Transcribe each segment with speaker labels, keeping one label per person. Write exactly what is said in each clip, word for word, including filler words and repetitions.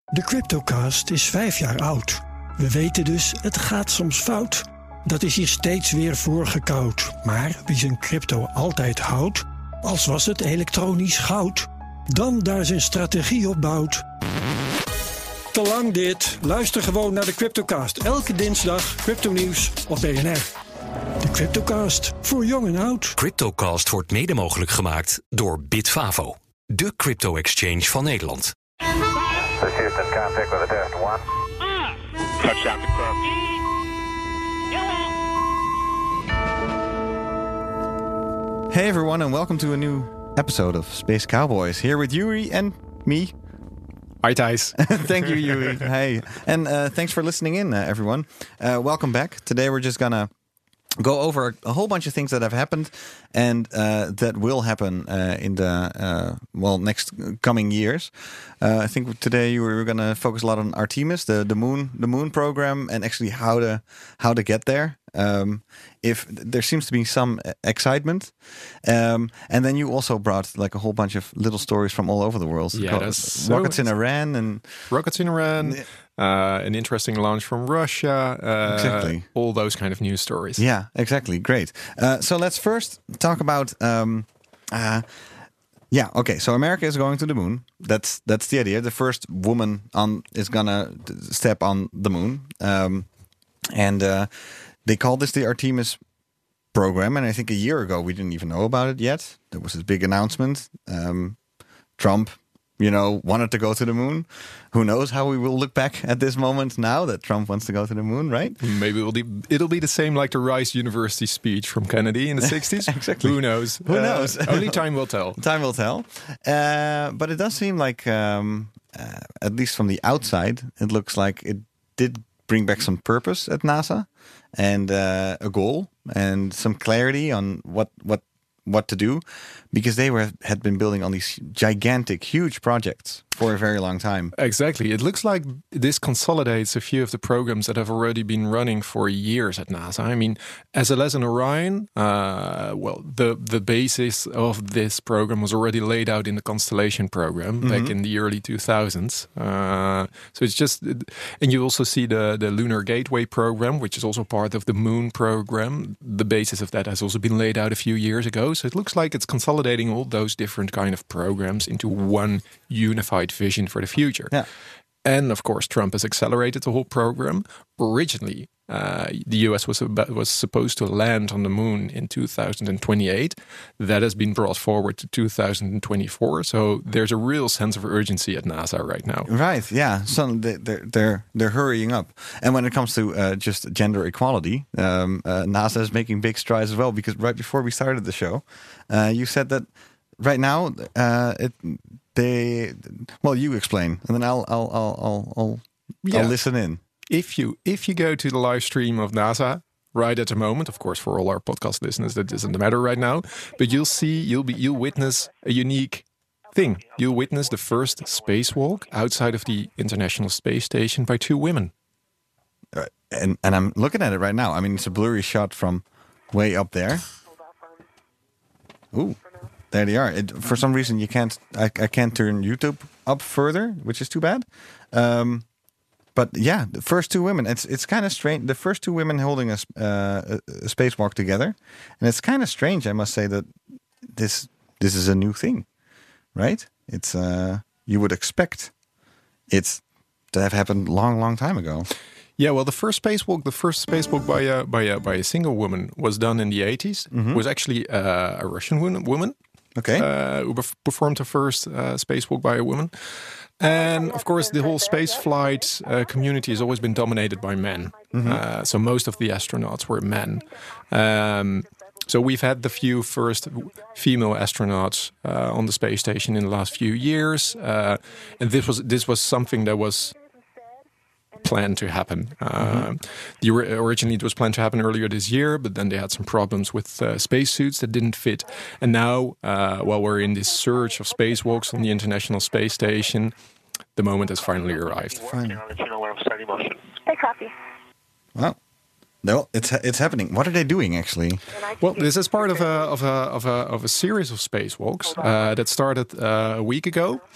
Speaker 1: De CryptoCast is vijf jaar oud. We weten dus, het gaat soms fout. Dat is hier steeds weer voorgekoud. Maar wie zijn crypto altijd houdt, als was het elektronisch goud, dan daar zijn strategie op bouwt. Te lang dit. Luister gewoon naar de CryptoCast. Elke dinsdag crypto-nieuws op B N R. De CryptoCast, voor jong en oud.
Speaker 2: CryptoCast wordt mede mogelijk gemaakt door Bitfavo, de crypto-exchange van Nederland.
Speaker 3: Houston, contact with a test one.
Speaker 4: Touchdown confirmed.
Speaker 5: Hey everyone, and welcome to a new episode of Space Cowboys. Here with Yuri and me.
Speaker 6: Hi Thijs.
Speaker 5: Thank you, Yuri. Hey, and uh, thanks for listening in, uh, everyone. Uh, welcome back. Today we're just gonna go over a whole bunch of things that have happened and uh, that will happen uh, in the uh, well next coming years. Uh, I think today we're going to focus a lot on Artemis, the the moon the moon program, and actually how to how to get there. Um, if there seems to be some excitement, um, and then you also brought like a whole bunch of little stories from all over the world.
Speaker 6: Yeah, that's so
Speaker 5: rockets in Iran and
Speaker 6: rockets in Iran. Uh, an interesting launch from Russia. Uh,
Speaker 5: exactly.
Speaker 6: All those kind of news stories.
Speaker 5: Yeah, exactly. Great. Uh, so let's first talk about. Um, uh, yeah. Okay. So America is going to the moon. That's that's the idea. The first woman on is gonna step on the moon, um, and uh, they call this the Artemis program. And I think a year ago we didn't even know about it yet. There was this big announcement. Um, Trump. You know, wanted to go to the moon. Who knows how we will look back at this moment now that Trump wants to go to the moon, right?
Speaker 6: Maybe it'll be, it'll be the same like the Rice University speech from Kennedy in the sixties.
Speaker 5: Exactly.
Speaker 6: Who knows?
Speaker 5: Who
Speaker 6: uh,
Speaker 5: knows?
Speaker 6: Only time will tell.
Speaker 5: Time will tell. Uh, but it does seem like, um, uh, at least from the outside, it looks like it did bring back some purpose at NASA and uh, a goal and some clarity on what what. what to do, because they were had been building on these gigantic, huge projects for a very long time.
Speaker 6: Exactly. It looks like this consolidates a few of the programs that have already been running for years at NASA. I mean, S L S and Orion, uh, well, the, the basis of this program was already laid out in the Constellation program mm-hmm. back in the early two thousands. Uh, so it's just, and you also see the, the Lunar Gateway program, which is also part of the Moon program. The basis of that has also been laid out a few years ago. So it looks like it's consolidating all those different kind of programs into one unified vision for the future.
Speaker 5: Yeah.
Speaker 6: And of course, Trump has accelerated the whole program. Originally, uh, the U S was about, was supposed to land on the moon in two thousand twenty-eight. That has been brought forward to two thousand twenty-four. So there's a real sense of urgency at NASA right now.
Speaker 5: Right. Yeah. So they're they're they're hurrying up. And when it comes to uh, just gender equality, um, uh, NASA is making big strides as well. Because right before we started the show, uh, you said that right now uh, it. They well, you explain, and then I'll I'll I'll I'll I'll,
Speaker 6: yeah.
Speaker 5: I'll listen in.
Speaker 6: If you if you go to the live stream of NASA right at the moment, of course, for all our podcast listeners, that doesn't matter right now. But you'll see, you'll be you'll witness a unique thing. You'll witness the first spacewalk outside of the International Space Station by two women.
Speaker 5: Uh, and and I'm looking at it right now. I mean, it's a blurry shot from way up there. Ooh. There they are. It, for some reason, you can't. I, I can't turn YouTube up further, which is too bad. Um, but yeah, the first two women. It's it's kind of strange. The first two women holding a, uh, a spacewalk together, and it's kind of strange. I must say that this this is a new thing, right? It's uh, you would expect it to have happened long, long time ago.
Speaker 6: Yeah, well, the first spacewalk, the first spacewalk by a by a by a single woman was done in the eighties. Mm-hmm. Was actually uh, a Russian woman.
Speaker 5: Okay.
Speaker 6: Uh, who performed the first uh, spacewalk by a woman. And of course, the whole space flight uh, community has always been dominated by men. Mm-hmm. Uh, so most of the astronauts were men. Um, so we've had the few first female astronauts uh, on the space station in the last few years. Uh, and this was this was something that was planned to happen. Uh, mm-hmm. the, originally, it was planned to happen earlier this year, but then they had some problems with uh, spacesuits that didn't fit. And now, uh, while we're in this surge of spacewalks on the International Space Station, the moment has finally arrived.
Speaker 5: Fine.
Speaker 4: Hey, copy.
Speaker 5: Wow. No, it's it's happening. What are they doing actually?
Speaker 6: Well, this is part of a of a of a of a series of spacewalks uh, that started uh, a week ago.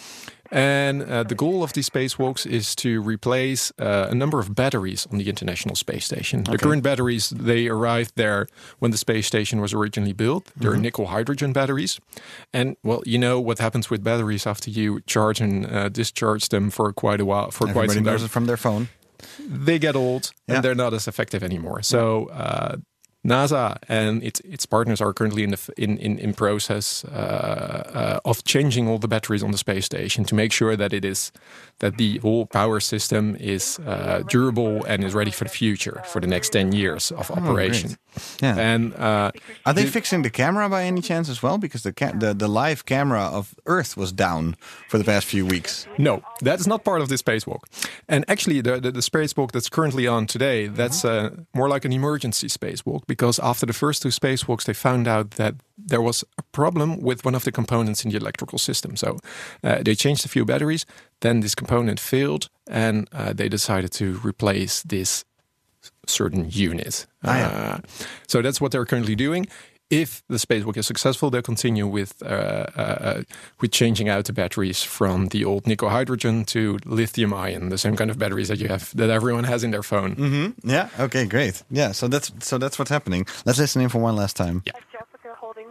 Speaker 6: And uh, the goal of these spacewalks is to replace uh, a number of batteries on the International Space Station. Okay. The current batteries, they arrived there when the space station was originally built. They're mm-hmm. nickel hydrogen batteries. And, well, you know what happens with batteries after you charge and uh, discharge them for quite a while. For
Speaker 5: Everybody
Speaker 6: quite some time.
Speaker 5: knows it from their phone.
Speaker 6: They get old
Speaker 5: yeah.
Speaker 6: and they're not as effective anymore. So uh, NASA and its its partners are currently in the in in, in process uh, uh, of changing all the batteries on the space station to make sure that it is that the whole power system is uh, durable and is ready for the future for the next ten years of operation.
Speaker 5: Oh, yeah.
Speaker 6: And uh,
Speaker 5: are they the, fixing the camera by any chance as well? Because the, ca- the the live camera of Earth was down for the past few weeks.
Speaker 6: No, that's not part of this spacewalk. And actually, the the, the spacewalk that's currently on today, that's uh, more like an emergency spacewalk. Because after the first two spacewalks, they found out that there was a problem with one of the components in the electrical system. So uh, they changed a few batteries. Then this component failed, and uh, they decided to replace this certain unit.
Speaker 5: Ah, yeah.
Speaker 6: uh, so that's what they're currently doing. If the spacewalk is successful, they'll continue with uh, uh, with changing out the batteries from the old nickel hydrogen to lithium ion, the same kind of batteries that you have that everyone has in their phone.
Speaker 5: Mm-hmm. Yeah. Okay. Great. Yeah. So that's so that's what's happening. Let's listen in for one last time.
Speaker 6: Yeah.
Speaker 4: Jessica holding.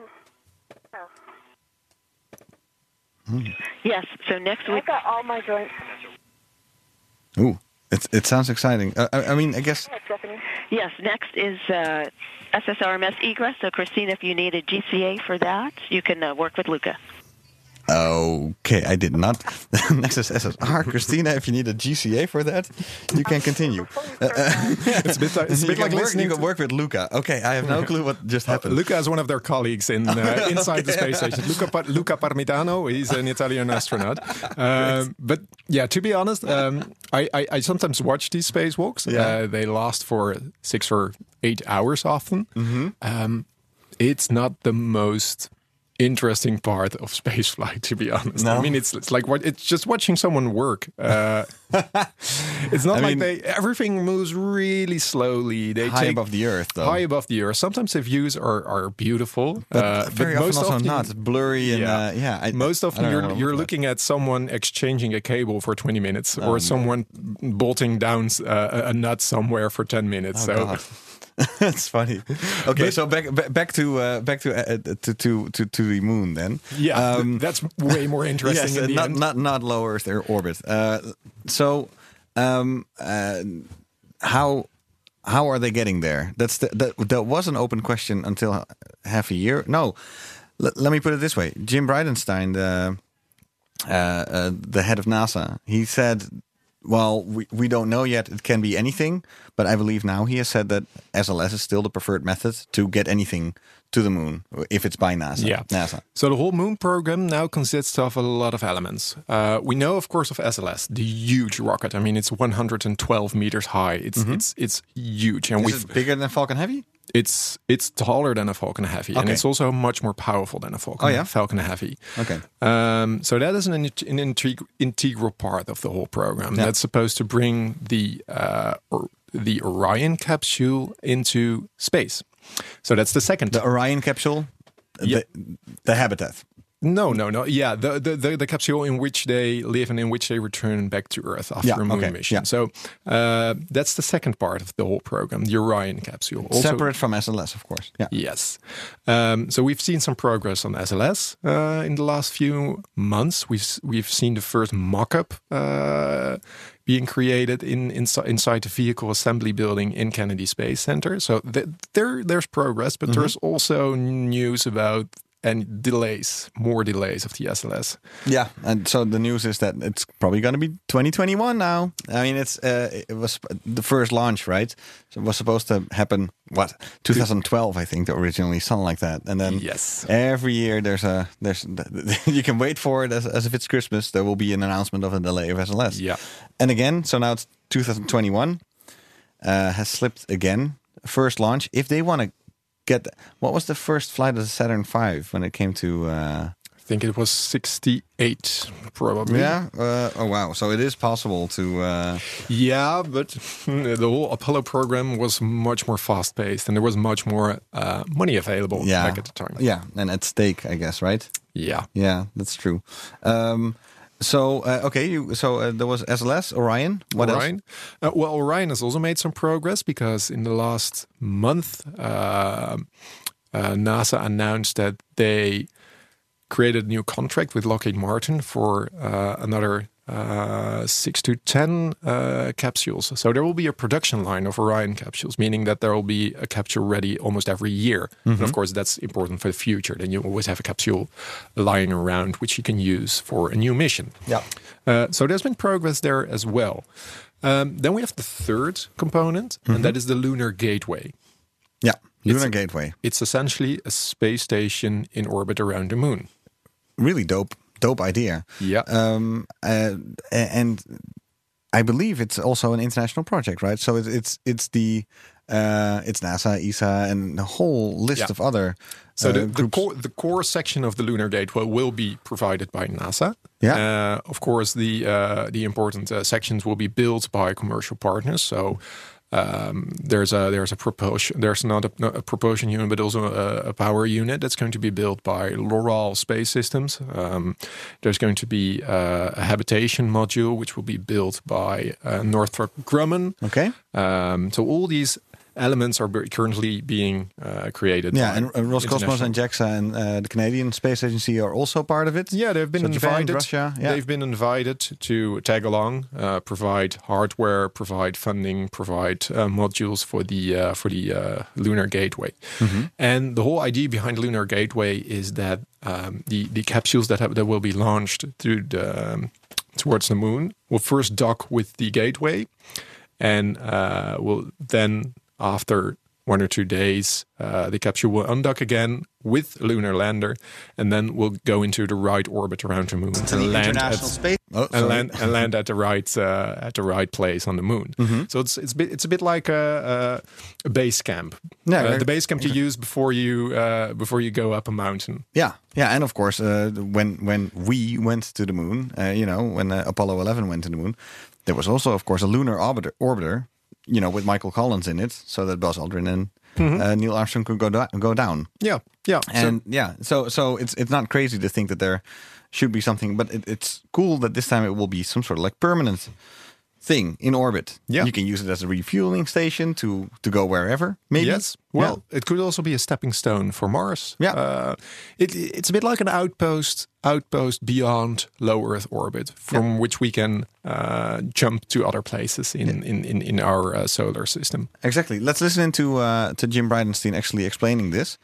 Speaker 7: Mm. Yes. So next week.
Speaker 4: I got all my joints.
Speaker 5: Ooh. It it sounds exciting. Uh, I, I mean, I guess.
Speaker 7: Yes. Next is uh, S S R M S egress. So, Christina, if you need a G C A for that, you can uh, work with Luca.
Speaker 5: Okay, I did not. Next is S S R. Christina, if you need a G C A for that, you can continue. Uh,
Speaker 6: it's a bit, it's a bit like
Speaker 5: work,
Speaker 6: listening.
Speaker 5: You can work with Luca. Okay, I have no clue what just happened.
Speaker 6: Uh, Luca is one of their colleagues in uh, inside okay. the space station. Luca, Luca Parmitano, he's an Italian astronaut. Um, but yeah, to be honest, um, I, I, I sometimes watch these spacewalks.
Speaker 5: Yeah.
Speaker 6: Uh, they last for six or eight hours often.
Speaker 5: Mm-hmm.
Speaker 6: Um, it's not the most interesting part of spaceflight, to be honest.
Speaker 5: No?
Speaker 6: I mean, it's it's like what it's just watching someone work. Uh, it's not
Speaker 5: I
Speaker 6: like
Speaker 5: mean,
Speaker 6: they everything moves really slowly. They
Speaker 5: high
Speaker 6: take,
Speaker 5: above the Earth, though.
Speaker 6: High above the Earth. Sometimes the views are are beautiful,
Speaker 5: but
Speaker 6: uh,
Speaker 5: very
Speaker 6: but
Speaker 5: often
Speaker 6: most
Speaker 5: also
Speaker 6: often
Speaker 5: not. It's blurry and
Speaker 6: yeah.
Speaker 5: uh, yeah. I,
Speaker 6: most often
Speaker 5: I
Speaker 6: you're you're looking
Speaker 5: like.
Speaker 6: at someone exchanging a cable for twenty minutes,
Speaker 5: Oh,
Speaker 6: or someone bolting down uh, a nut somewhere for ten minutes.
Speaker 5: Oh,
Speaker 6: so.
Speaker 5: God. That's funny. Okay, but, so back back to uh, back to, uh, to to to to the moon then.
Speaker 6: Yeah, um, that's way more interesting.
Speaker 5: Yes,
Speaker 6: in the
Speaker 5: not
Speaker 6: end.
Speaker 5: not not low Earth orbit. Uh, so, um, uh, how how are they getting there? That's the, that that was an open question until half a year. No, L- let me put it this way: Jim Bridenstine, the uh, uh, the head of NASA, he said, well, we, we don't know yet. It can be anything. But I believe now he has said that S L S is still the preferred method to get anything to the moon, if it's by NASA.
Speaker 6: Yeah.
Speaker 5: NASA.
Speaker 6: So the whole moon program now consists of a lot of elements. Uh, we know, of course, of S L S, the huge rocket. I mean, it's one hundred twelve meters high. It's mm-hmm. it's it's huge. And
Speaker 5: is
Speaker 6: we've,
Speaker 5: it bigger than Falcon Heavy?
Speaker 6: It's it's taller than a Falcon Heavy, okay. and it's also much more powerful than a Falcon,
Speaker 5: oh, yeah?
Speaker 6: Falcon Heavy.
Speaker 5: Okay.
Speaker 6: Um, so that is an, an integ- integral part of the whole program. Yeah. That's supposed to bring the uh, or the Orion capsule into space. So that's the second.
Speaker 5: The Orion capsule?
Speaker 6: Yeah.
Speaker 5: The, the habitat?
Speaker 6: No, no, no. Yeah, the, the, the, the capsule in which they live and in which they return back to Earth after
Speaker 5: yeah,
Speaker 6: a moon
Speaker 5: okay.
Speaker 6: mission.
Speaker 5: Yeah.
Speaker 6: So uh, that's the second part of the whole program, the Orion capsule. Also,
Speaker 5: separate from S L S, of course. Yeah.
Speaker 6: Yes. Um, so we've seen some progress on S L S uh, in the last few months. We've we've seen the first mock-up uh, being created in, in inside the vehicle assembly building in Kennedy Space Center. So th- there there's progress, but mm-hmm. there's also news about and delays, more delays of the S L S.
Speaker 5: Yeah, and so the news is that it's probably going to be twenty twenty-one now. I mean, it's uh, it was the first launch, right? So it was supposed to happen, what, twenty twelve, I think, originally, something like that. And then
Speaker 6: yes.
Speaker 5: every year there's a there's you can wait for it as, as if it's Christmas. There will be an announcement of a delay of S L S.
Speaker 6: Yeah,
Speaker 5: and again, so now it's twenty twenty-one uh, has slipped again. First launch, if they want to. Get what was the first flight of the Saturn five when it came to? Uh,
Speaker 6: I think it was sixty-eight, probably.
Speaker 5: Yeah. Uh, oh wow! So it is possible to. Uh...
Speaker 6: Yeah, but the whole Apollo program was much more fast-paced, and there was much more uh, money available
Speaker 5: yeah.
Speaker 6: back at the time.
Speaker 5: Yeah, and at stake, I guess, right?
Speaker 6: Yeah.
Speaker 5: Yeah, that's true. Um, So uh, okay, you, so uh, there was S L S, Orion. What
Speaker 6: Orion.
Speaker 5: else?
Speaker 6: Uh, well, Orion has also made some progress because in the last month, uh, uh, NASA announced that they created a new contract with Lockheed Martin for uh, another uh, six to ten uh, capsules. So there will be a production line of Orion capsules, meaning that there will be a capsule ready almost every year. Mm-hmm. And of course, that's important for the future. Then you always have a capsule lying around which you can use for a new mission.
Speaker 5: Yeah.
Speaker 6: Uh, so there's been progress there as well. Um, then we have the third component, mm-hmm. and that is the Lunar Gateway.
Speaker 5: Yeah, Lunar
Speaker 6: it's,
Speaker 5: Gateway.
Speaker 6: It's essentially a space station in orbit around the moon.
Speaker 5: Really dope, dope idea.
Speaker 6: Yeah.
Speaker 5: Um, uh, and I believe it's also an international project, right? So it's it's it's the uh, it's NASA, E S A, and a whole list
Speaker 6: yeah.
Speaker 5: of other.
Speaker 6: So
Speaker 5: uh,
Speaker 6: the, the
Speaker 5: groups.
Speaker 6: core the core section of the Lunar Gateway will be provided by NASA.
Speaker 5: Yeah.
Speaker 6: Uh, of course, the uh, the important uh, sections will be built by commercial partners. So. Um, there's a there's a propulsion there's not a, not a propulsion unit, but also a, a power unit that's going to be built by Loral Space Systems. Um, there's going to be uh, a habitation module which will be built by uh, Northrop Grumman.
Speaker 5: Okay.
Speaker 6: Um, so all these elements are currently being uh, created.
Speaker 5: Yeah,
Speaker 6: by
Speaker 5: and uh, Roscosmos and JAXA and uh, the Canadian Space Agency are also part of it.
Speaker 6: Yeah, they've been
Speaker 5: so
Speaker 6: invited.
Speaker 5: Japan, Russia, yeah.
Speaker 6: They've been invited to tag along, uh, provide hardware, provide funding, provide uh, modules for the uh, for the uh, Lunar Gateway. Mm-hmm. And the whole idea behind Lunar Gateway is that um, the the capsules that have, that will be launched through the um, towards the moon will first dock with the gateway, and uh, will then. After one or two days, uh, the capsule will undock again with a lunar lander, and then we'll go into the right orbit around the moon
Speaker 8: to
Speaker 6: and
Speaker 8: the
Speaker 6: land
Speaker 8: International
Speaker 6: at,
Speaker 5: Space oh,
Speaker 6: and land and land at the right uh, at the right place on the moon. Mm-hmm. So it's it's a bit, it's a bit like a, a base camp.
Speaker 5: Yeah,
Speaker 6: uh, the base camp you use before you uh, before you go up a mountain.
Speaker 5: Yeah, yeah, and of course, uh, when when we went to the moon, uh, you know, when uh, Apollo eleven went to the moon, there was also, of course, a lunar orbiter. orbiter You know, with Michael Collins in it, so that Buzz Aldrin and mm-hmm. uh, Neil Armstrong could go do- go down.
Speaker 6: Yeah, yeah,
Speaker 5: and
Speaker 6: so,
Speaker 5: yeah. So so it's it's not crazy to think that there should be something, but it, it's cool that this time it will be some sort of like permanent thing in orbit.
Speaker 6: Yeah,
Speaker 5: you can use it as a refueling station to to go wherever. Maybe.
Speaker 6: Yes. Well,
Speaker 5: yeah.
Speaker 6: it could also be a stepping stone for Mars.
Speaker 5: Yeah.
Speaker 6: Uh, it, it's a bit like an outpost outpost beyond low Earth orbit, from yeah. which we can uh, jump to other places in yeah. in, in, in our uh, solar system.
Speaker 5: Exactly. Let's listen into uh, to Jim Bridenstine actually explaining this.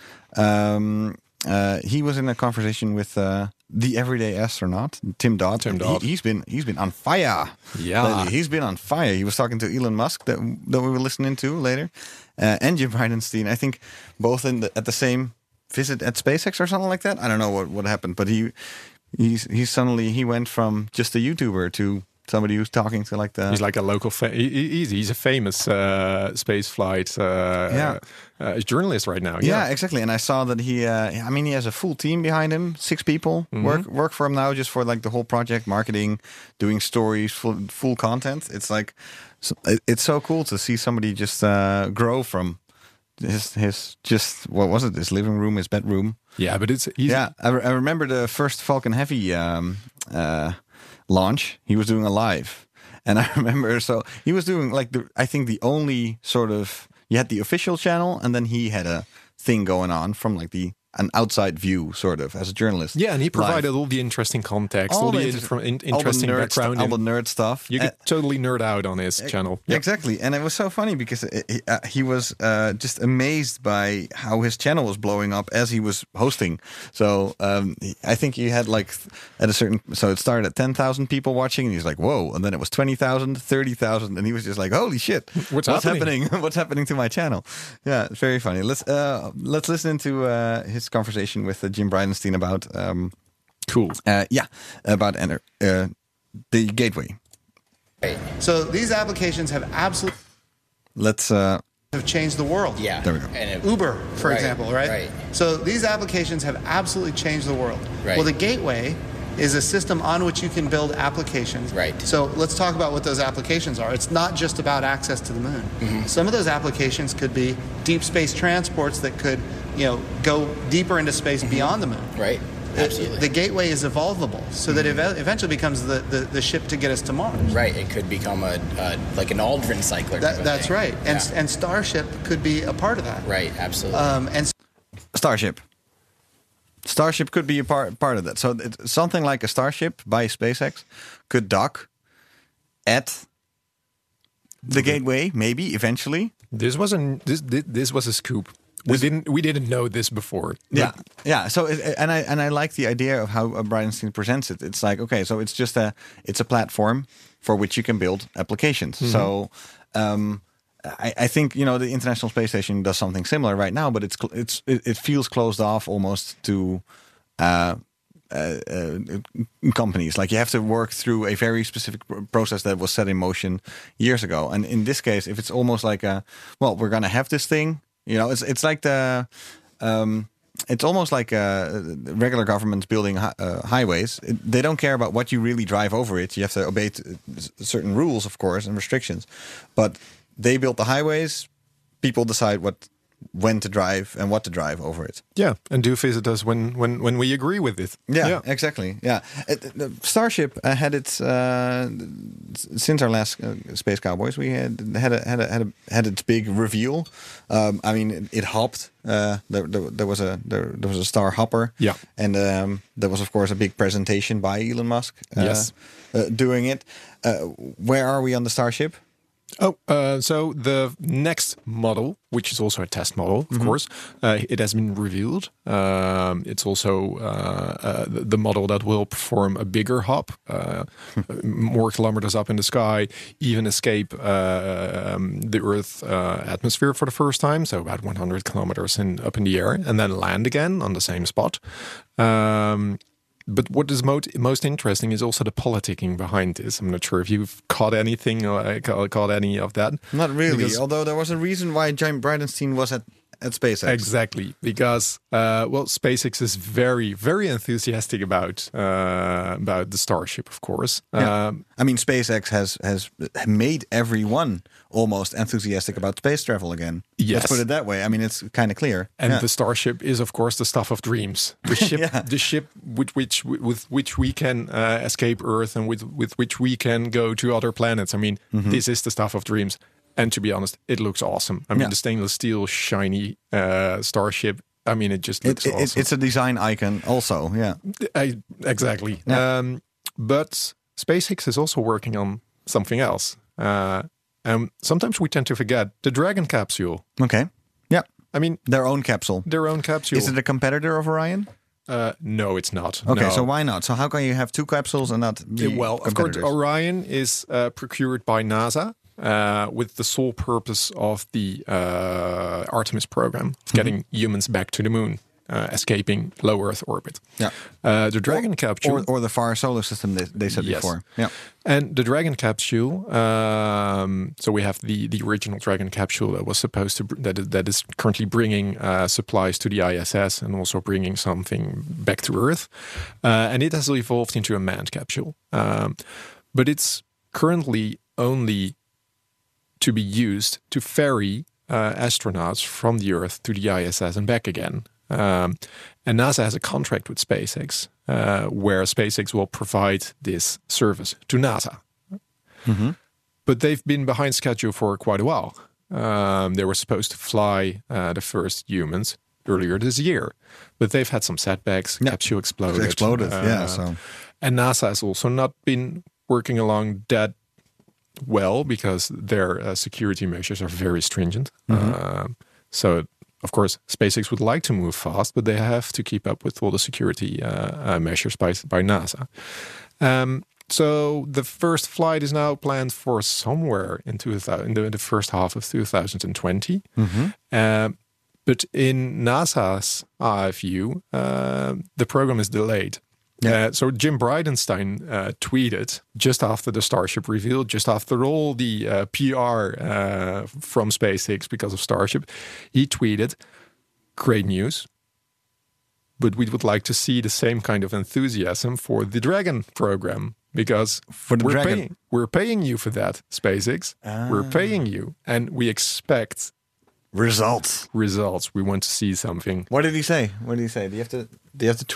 Speaker 5: Um, uh, he was in a conversation with uh, the everyday astronaut, Tim Dodd.
Speaker 6: Tim Dodd.
Speaker 5: He, he's been he's been on fire.
Speaker 6: Yeah,
Speaker 5: lately. He's been on fire. He was talking to Elon Musk that that we were listening to later, uh, and Jim Bridenstine. I think both in the, at the same visit at SpaceX or something like that. I don't know what, what happened, but he he's he suddenly he went from just a YouTuber to somebody who's talking to like the.
Speaker 6: He's like a local. Fa- he, he's a famous uh, space flight uh,
Speaker 5: yeah.
Speaker 6: uh, journalist right now.
Speaker 5: Yeah.
Speaker 6: yeah,
Speaker 5: exactly. And I saw that he. Uh, I mean, he has a full team behind him. Six people mm-hmm. work work for him now, just for like the whole project, marketing, doing stories, full full content. It's like, it's so cool to see somebody just uh, grow from. His his just what was it? His living room, his bedroom.
Speaker 6: Yeah, but it's easy.
Speaker 5: Yeah. I, re- I remember the first Falcon Heavy um, uh, launch. He was doing a live, and I remember so he was doing like the I think the only sort of you had the official channel, and then he had a thing going on from like the an outside view, sort of, as a journalist.
Speaker 6: Yeah, and he provided
Speaker 5: live.
Speaker 6: all the interesting context, all, all the, the inter- in- interesting
Speaker 5: all the
Speaker 6: background,
Speaker 5: st- all the nerd stuff.
Speaker 6: You could uh, totally nerd out on his
Speaker 5: uh,
Speaker 6: channel.
Speaker 5: Yep. Exactly, and it was so funny because it, it, uh, he was uh, just amazed by how his channel was blowing up as he was hosting. So um, I think he had like at a certain, so it started at ten thousand people watching, and he's like, "Whoa!" And then it was twenty thousand, thirty thousand, and he was just like, "Holy shit!
Speaker 6: What's,
Speaker 5: What's
Speaker 6: happening?
Speaker 5: happening? What's happening to my channel?" Yeah, it's very funny. Let's uh, let's listen to uh, his conversation with. Uh, Jim Bridenstine about um,
Speaker 6: cool
Speaker 5: uh, yeah about enter uh, the gateway.
Speaker 8: Right. So these applications have absolutely
Speaker 5: let's uh,
Speaker 8: have changed the world.
Speaker 9: Yeah,
Speaker 5: there we go.
Speaker 8: And it, Uber, for
Speaker 9: right,
Speaker 8: example, right?
Speaker 9: Right.
Speaker 8: So these applications have absolutely changed the world.
Speaker 9: Right.
Speaker 8: Well, the gateway is a system on which you can build applications.
Speaker 9: Right.
Speaker 8: So let's talk about what those applications are. It's not just about access to the moon. Mm-hmm. Some of those applications could be deep space transports that could, you know, go deeper into space mm-hmm. beyond the moon.
Speaker 9: Right. Absolutely.
Speaker 8: The gateway is evolvable, so that it eventually becomes the, the, the ship to get us to Mars.
Speaker 9: Right. It could become a, a like an Aldrin cycler.
Speaker 8: That, that's thing. right. And yeah. and Starship could be a part of that.
Speaker 9: Right. Absolutely.
Speaker 8: Um, and
Speaker 5: Starship. Starship could be a part part of that. So it, something like a Starship by SpaceX could dock at the gateway, maybe eventually.
Speaker 6: This wasn't this this was a scoop. We didn't we didn't know this before.
Speaker 5: Yeah, yeah. So it, and I and I like the idea of how Bridenstine presents it. It's like, okay, so it's just a it's a platform for which you can build applications. Mm-hmm. So um, I, I think, you know, the International Space Station does something similar right now, but it's it's it, it feels closed off almost to uh, uh, uh, companies. Like you have to work through a very specific process that was set in motion years ago. And in this case, if it's almost like a well, we're gonna have this thing. You know, it's it's like the, um, it's almost like uh, regular governments building hi- uh, highways. It, they don't care about what you really drive over it. You have to obey t- certain rules, of course, and restrictions. But they build the highways. People decide what, when to drive and what to drive over it.
Speaker 6: Yeah, and do visit us when when when we agree with it.
Speaker 5: Yeah, yeah. exactly. Yeah, it, the Starship uh, had its uh, since our last uh, Space Cowboys. We had had a, had a, had, a, had its big reveal. Um, I mean, it, it hopped. Uh, there, there, there was a there, there was a star hopper.
Speaker 6: Yeah,
Speaker 5: and um, there was of course a big presentation by Elon Musk. Uh,
Speaker 6: yes,
Speaker 5: uh, doing it. Uh, where are we on the Starship?
Speaker 6: Oh, uh, so the next model, which is also a test model, of mm-hmm. course, uh, it has been revealed. Um, it's also uh, uh, the model that will perform a bigger hop, uh, more kilometers up in the sky, even escape uh, um, the Earth uh, atmosphere for the first time, so about one hundred kilometers in, up in the air, and then land again on the same spot. Um, But what is most most interesting is also the politicking behind this. I'm not sure if you've caught anything or caught any of that.
Speaker 5: Not really, because, although there was a reason why James Bridenstine was at, at SpaceX.
Speaker 6: Exactly, because uh, well, SpaceX is very, very enthusiastic about uh, about the Starship, of course.
Speaker 5: Yeah.
Speaker 6: Um,
Speaker 5: I mean, SpaceX has has made everyone almost enthusiastic about space travel again.
Speaker 6: Yes.
Speaker 5: Let's put it that way. I mean, it's kind of clear.
Speaker 6: And
Speaker 5: yeah.
Speaker 6: the Starship is, of course, the stuff of dreams. The ship,
Speaker 5: yeah.
Speaker 6: the ship with which with which we can uh, escape Earth and with with which we can go to other planets. I mean, mm-hmm. this is the stuff of dreams. And to be honest, it looks awesome. I mean,
Speaker 5: yeah.
Speaker 6: the stainless steel, shiny uh, Starship. I mean, it just looks
Speaker 5: it, it,
Speaker 6: awesome.
Speaker 5: It's a design icon, also. Yeah,
Speaker 6: I, exactly.
Speaker 5: Yeah.
Speaker 6: Um, but SpaceX is also working on something else. Uh, and sometimes we tend to forget the Dragon capsule.
Speaker 5: Okay. Yeah.
Speaker 6: I mean,
Speaker 5: their own capsule.
Speaker 6: Their own capsule.
Speaker 5: Is it a competitor of Orion?
Speaker 6: Uh, no, it's not.
Speaker 5: Okay,
Speaker 6: no.
Speaker 5: so why not? So how can you have two capsules and not be
Speaker 6: well, of course, Orion is uh, procured by NASA. Uh, with the sole purpose of the uh, Artemis program of getting mm-hmm. humans back to the moon, uh, escaping low Earth orbit.
Speaker 5: Yeah,
Speaker 6: uh, the Dragon
Speaker 5: or,
Speaker 6: capsule,
Speaker 5: or, or the far solar system they, they said
Speaker 6: yes.
Speaker 5: before. Yeah,
Speaker 6: and the Dragon capsule. Um, so we have the the original Dragon capsule that was supposed to br- that is, that is currently bringing uh, supplies to the I S S and also bringing something back to Earth, uh, and it has evolved into a manned capsule. Um, but it's currently only to be used to ferry uh, astronauts from the Earth to the I S S and back again. Um, and NASA has a contract with SpaceX uh, where SpaceX will provide this service to NASA.
Speaker 5: Mm-hmm.
Speaker 6: But they've been behind schedule for quite a while. Um, they were supposed to fly uh, the first humans earlier this year, but they've had some setbacks.
Speaker 5: Yeah.
Speaker 6: Capsule exploded.
Speaker 5: It exploded,
Speaker 6: uh,
Speaker 5: yeah. So,
Speaker 6: and NASA has also not been working along that well because their uh, security measures are very stringent.
Speaker 5: Mm-hmm.
Speaker 6: Uh, so, of course, SpaceX would like to move fast, but they have to keep up with all the security uh, uh, measures by by NASA. Um, so the first flight is now planned for somewhere in, two thousand, in the, the first half of two thousand twenty.
Speaker 5: Mm-hmm.
Speaker 6: Uh, but in NASA's uh, view, uh, the program is delayed. Yeah. Uh, so Jim Bridenstine uh, tweeted just after the Starship reveal, just after all the uh, P R uh, from SpaceX because of Starship, he tweeted, "Great news, but we would like to see the same kind of enthusiasm for the Dragon program because
Speaker 5: for the
Speaker 6: we're
Speaker 5: Dragon,
Speaker 6: paying, we're paying you for that, SpaceX.
Speaker 5: Ah.
Speaker 6: We're paying you, and we expect
Speaker 5: results.
Speaker 6: Results. We want to see something."
Speaker 5: What did he say? What did he say? Do you have to? Do you have to tweet?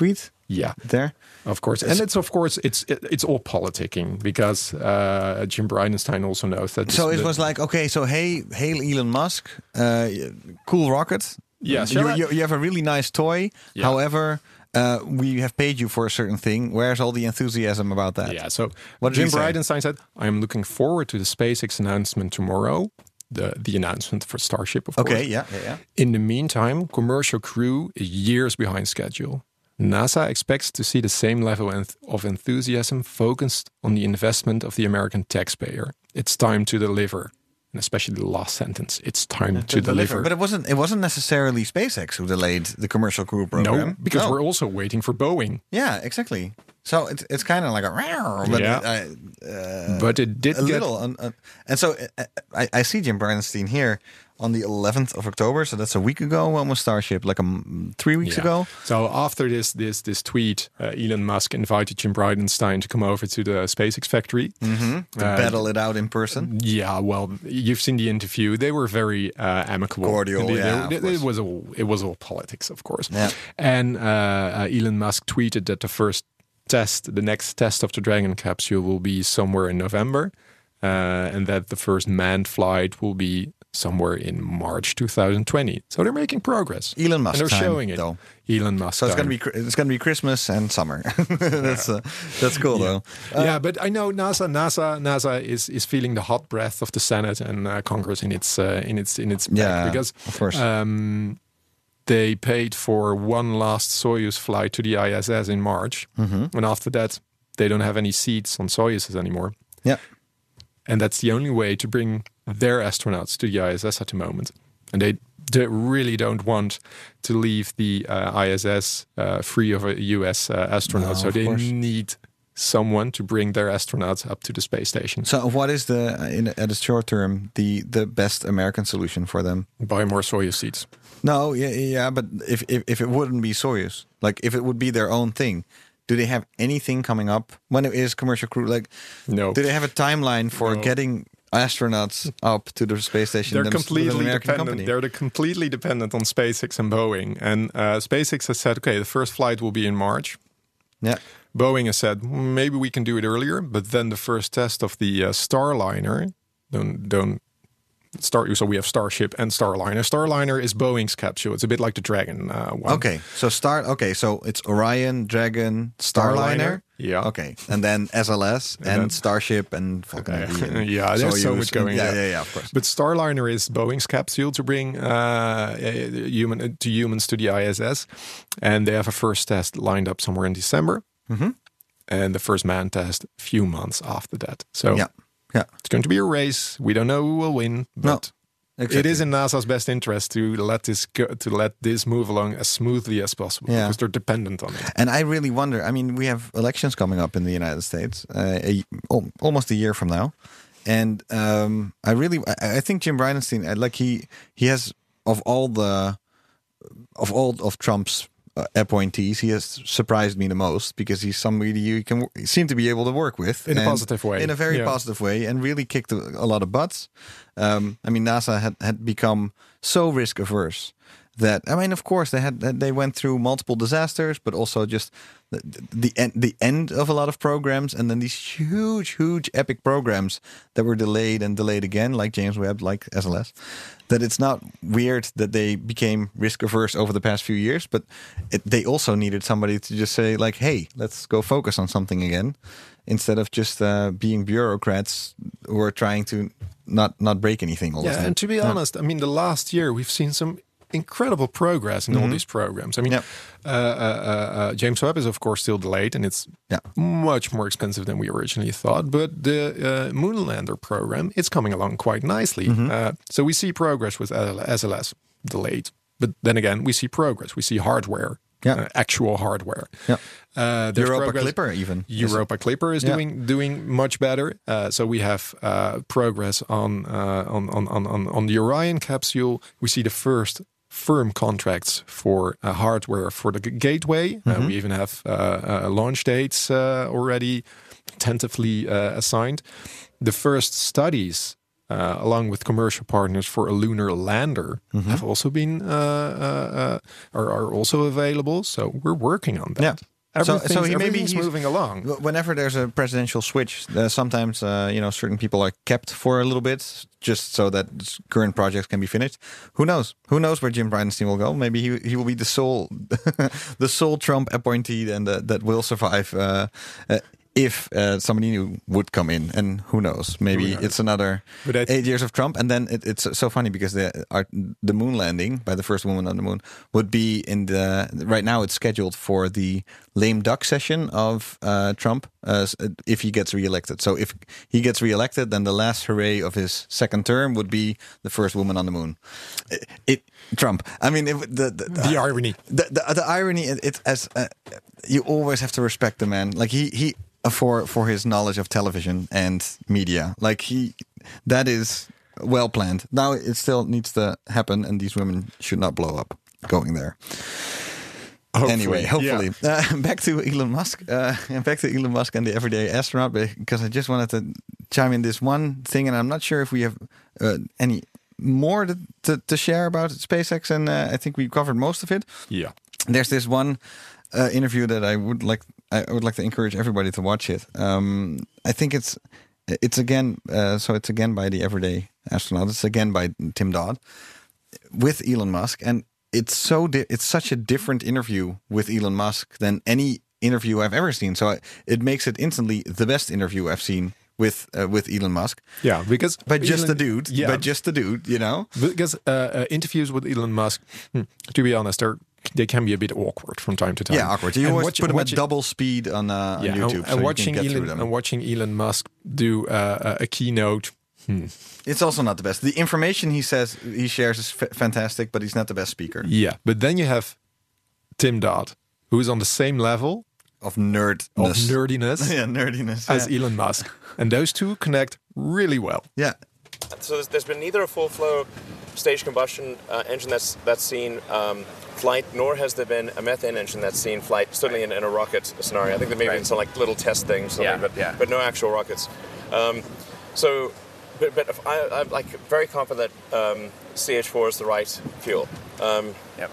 Speaker 6: Yeah,
Speaker 5: there,
Speaker 6: of course, and it's of course it's it, it's all politicking because uh, Jim Bridenstine also knows that.
Speaker 5: So it
Speaker 6: the,
Speaker 5: was like, okay, so hey, hey, Elon Musk, uh, cool rocket.
Speaker 6: Yeah,
Speaker 5: you, you, you have a really nice toy.
Speaker 6: Yeah.
Speaker 5: However, uh, we have paid you for a certain thing. Where's all the enthusiasm about that?
Speaker 6: Yeah. So
Speaker 5: what
Speaker 6: Jim Bridenstine said, "I am looking forward to the SpaceX announcement tomorrow." The the announcement for Starship, of course.
Speaker 5: Okay. Yeah. Yeah. yeah.
Speaker 6: In the meantime, commercial crew is years behind schedule. NASA expects to see the same level of enthusiasm focused on the investment of the American taxpayer. It's time to deliver, and especially the last sentence. It's time to, to deliver. deliver.
Speaker 5: But it wasn't. It wasn't necessarily SpaceX who delayed the commercial crew program.
Speaker 6: No, because
Speaker 5: no.
Speaker 6: we're also waiting for Boeing.
Speaker 5: Yeah, exactly. So it's it's kind of like a but
Speaker 6: yeah.
Speaker 5: It, uh,
Speaker 6: but it did
Speaker 5: a
Speaker 6: get
Speaker 5: little. Uh, uh, and so uh, I, I see Jim Bridenstine here on the eleventh of October. So that's a week ago. When was Starship? Like a three weeks
Speaker 6: yeah.
Speaker 5: ago.
Speaker 6: So after this this this tweet, uh, Elon Musk invited Jim Bridenstine to come over to the SpaceX factory
Speaker 5: mm-hmm. to uh, battle it out in person.
Speaker 6: Yeah, well, you've seen the interview. They were very uh, amicable,
Speaker 5: cordial.
Speaker 6: They,
Speaker 5: yeah,
Speaker 6: they, it was all it was all politics, of course.
Speaker 5: Yeah.
Speaker 6: And uh, uh, Elon Musk tweeted that the first test, the next test of the Dragon capsule, will be somewhere in November, uh, and that the first manned flight will be somewhere in March twenty twenty. So they're making progress.
Speaker 5: Elon Musk,
Speaker 6: and they're
Speaker 5: time,
Speaker 6: showing it.
Speaker 5: Though.
Speaker 6: Elon Musk.
Speaker 5: So it's
Speaker 6: time.
Speaker 5: gonna be it's gonna be Christmas and summer. that's uh, that's cool
Speaker 6: yeah.
Speaker 5: though. Uh,
Speaker 6: yeah, but I know NASA NASA NASA is is feeling the hot breath of the Senate and uh, Congress in its uh, in its in its back
Speaker 5: yeah,
Speaker 6: because
Speaker 5: of course.
Speaker 6: Um, they paid for one last Soyuz flight to the I S S in March,
Speaker 5: mm-hmm.
Speaker 6: and after that, they don't have any seats on Soyuzes anymore.
Speaker 5: Yeah,
Speaker 6: and that's the only way to bring their astronauts to the I S S at the moment. And they, they really don't want to leave the uh, I S S uh, free of a U S uh, astronaut,
Speaker 5: no,
Speaker 6: so they
Speaker 5: course.
Speaker 6: need someone to bring their astronauts up to the space station.
Speaker 5: So what is the, in at the short term, the, the best American solution for them?
Speaker 6: Buy more Soyuz seats.
Speaker 5: No, yeah, yeah, but if, if if it wouldn't be Soyuz, like if it would be their own thing, do they have anything coming up when it is commercial crew? Like,
Speaker 6: no.
Speaker 5: Do they have a timeline for
Speaker 6: no.
Speaker 5: getting astronauts up to the space station?
Speaker 6: They're completely
Speaker 5: American
Speaker 6: dependent.
Speaker 5: company?
Speaker 6: They're completely dependent on SpaceX and Boeing. And uh, SpaceX has said, okay, the first flight will be in March.
Speaker 5: Yeah.
Speaker 6: Boeing has said maybe we can do it earlier, but then the first test of the uh, Starliner don't don't. Star, so we have Starship and Starliner. Starliner is Boeing's capsule. It's a bit like the Dragon uh, one.
Speaker 5: Okay, so Star. Okay, so it's Orion, Dragon, Starliner.
Speaker 6: Starliner. Yeah.
Speaker 5: Okay, and then S L S and, and Starship and Falcon Heavy. And
Speaker 6: yeah, there's so much going.
Speaker 5: Yeah,
Speaker 6: yeah,
Speaker 5: yeah, yeah, of course.
Speaker 6: But Starliner is Boeing's capsule to bring uh, human to humans to the I S S, and they have a first test lined up somewhere in December,
Speaker 5: mm-hmm.
Speaker 6: and the first manned test a few months after that. So.
Speaker 5: Yeah. Yeah.
Speaker 6: It's going to be a race. We don't know who will win, but
Speaker 5: no, exactly.
Speaker 6: It is in NASA's best interest to let this go, to let this move along as smoothly as possible
Speaker 5: yeah.
Speaker 6: because they're dependent on it.
Speaker 5: And I really wonder. I mean, we have elections coming up in the United States, uh, a, oh, almost a year from now, and um, I really, I, I think Jim Bridenstine, like he, he has of all the, of all of Trump's Uh, appointees, he has surprised me the most because he's somebody you can seem to be able to work with
Speaker 6: in a positive way,
Speaker 5: in a very
Speaker 6: yeah.
Speaker 5: positive way, and really kicked a, a lot of butts. Um, I mean, NASA had, had become so risk averse that I mean, of course, they had they went through multiple disasters, but also just the, the end the end of a lot of programs, and then these huge, huge, epic programs that were delayed and delayed again, like James Webb, like S L S. That it's not weird that they became risk averse over the past few years, but it, they also needed somebody to just say like, "Hey, let's go focus on something again," instead of just uh, being bureaucrats who are trying to not not break anything all
Speaker 6: yeah,
Speaker 5: the time.
Speaker 6: and to be
Speaker 5: yeah.
Speaker 6: honest, I mean, the last year we've seen some incredible progress in mm-hmm. all these programs. I mean,
Speaker 5: yep.
Speaker 6: uh, uh, uh, James Webb is of course still delayed, and it's
Speaker 5: yeah.
Speaker 6: much more expensive than we originally thought. But the uh, Moonlander program, it's coming along quite nicely.
Speaker 5: Mm-hmm.
Speaker 6: Uh, so we see progress with S L S delayed, but then again, we see progress. We see hardware.
Speaker 5: Yeah.
Speaker 6: Uh, actual hardware.
Speaker 5: Yeah.
Speaker 6: Uh,
Speaker 5: Europa
Speaker 6: progress.
Speaker 5: Clipper even.
Speaker 6: Europa Clipper is
Speaker 5: yeah.
Speaker 6: doing doing much better. Uh, so we have uh, progress on, uh, on on on on the Orion capsule. We see the first firm contracts for uh, hardware for the gateway.
Speaker 5: Mm-hmm.
Speaker 6: Uh, we even have uh, uh, launch dates uh, already tentatively uh, assigned. The first studies. Uh, along with commercial partners for a lunar lander, mm-hmm. have also been uh, uh, uh, are, are also available. So we're working on that.
Speaker 5: Yeah.
Speaker 6: Everything's,
Speaker 5: so he maybe
Speaker 6: everything's
Speaker 5: he's
Speaker 6: moving along.
Speaker 5: Whenever there's a presidential switch, uh, sometimes uh, you know certain people are kept for a little bit, just so that current projects can be finished. Who knows? Who knows where Jim Bridenstine will go? Maybe he he will be the sole the sole Trump appointee, and uh, that will survive. Uh, uh, If uh, somebody new would come in, and who knows, maybe who knows? It's another eight years of Trump, and then it, it's so funny because the our, the moon landing by the first woman on the moon would be in the right now. It's scheduled for the lame duck session of uh, Trump uh, if he gets reelected. So if he gets reelected, then the last hooray of his second term would be the first woman on the moon. It, it Trump. I mean, if the the,
Speaker 6: the uh, irony,
Speaker 5: the the, the irony. It, it's as uh, you always have to respect the man. Like he he. For for his knowledge of television and media, like he, that is well planned. Now it still needs to happen, and these women should not blow up going there. Hopefully, anyway, hopefully, yeah. uh, back to Elon Musk, uh, and back to Elon Musk and the everyday astronaut. Because I just wanted to chime in this one thing, and I'm not sure if we have uh, any more to, to to share about SpaceX, and uh, I think we covered most of it.
Speaker 6: Yeah,
Speaker 5: there's this one uh, interview that I would like. I would like to encourage everybody to watch it. Um, I think it's it's again uh, so it's again by the everyday astronaut. It's again by Tim Dodd with Elon Musk, and it's so di- it's such a different interview with Elon Musk than any interview I've ever seen. So I, it makes it instantly the best interview I've seen with uh, with Elon Musk.
Speaker 6: Yeah, because
Speaker 5: but just
Speaker 6: Elon,
Speaker 5: the dude,
Speaker 6: yeah,
Speaker 5: but just the dude, you know.
Speaker 6: Because uh, uh, interviews with Elon Musk, hmm, to be honest, they're. They can be a bit awkward from time to time.
Speaker 5: Yeah, awkward. You and always watch, put them at double speed on, uh,
Speaker 6: yeah,
Speaker 5: on YouTube,
Speaker 6: and,
Speaker 5: so
Speaker 6: and watching
Speaker 5: you can get
Speaker 6: Elon
Speaker 5: through them.
Speaker 6: and watching Elon Musk do uh, a keynote. Hmm.
Speaker 5: It's also not the best. The information he says he shares is f- fantastic, but he's not the best speaker.
Speaker 6: Yeah, but then you have Tim Dodd, who is on the same level
Speaker 5: of nerdness,
Speaker 6: of nerdiness,
Speaker 5: yeah, nerdiness,
Speaker 6: as
Speaker 5: yeah.
Speaker 6: Elon Musk, and those two connect really well.
Speaker 5: Yeah.
Speaker 10: So there's, there's been neither a full flow stage combustion uh, engine that's that's seen um, flight, nor has there been a methane engine that's seen flight. Certainly in, in a rocket scenario, I think there may have
Speaker 9: right.
Speaker 10: been some like little test things,
Speaker 9: yeah,
Speaker 10: but
Speaker 9: yeah.
Speaker 10: but no actual rockets. Um, so, but, but if I, I'm like very confident that um, C H four is the right fuel. Um,
Speaker 9: yep.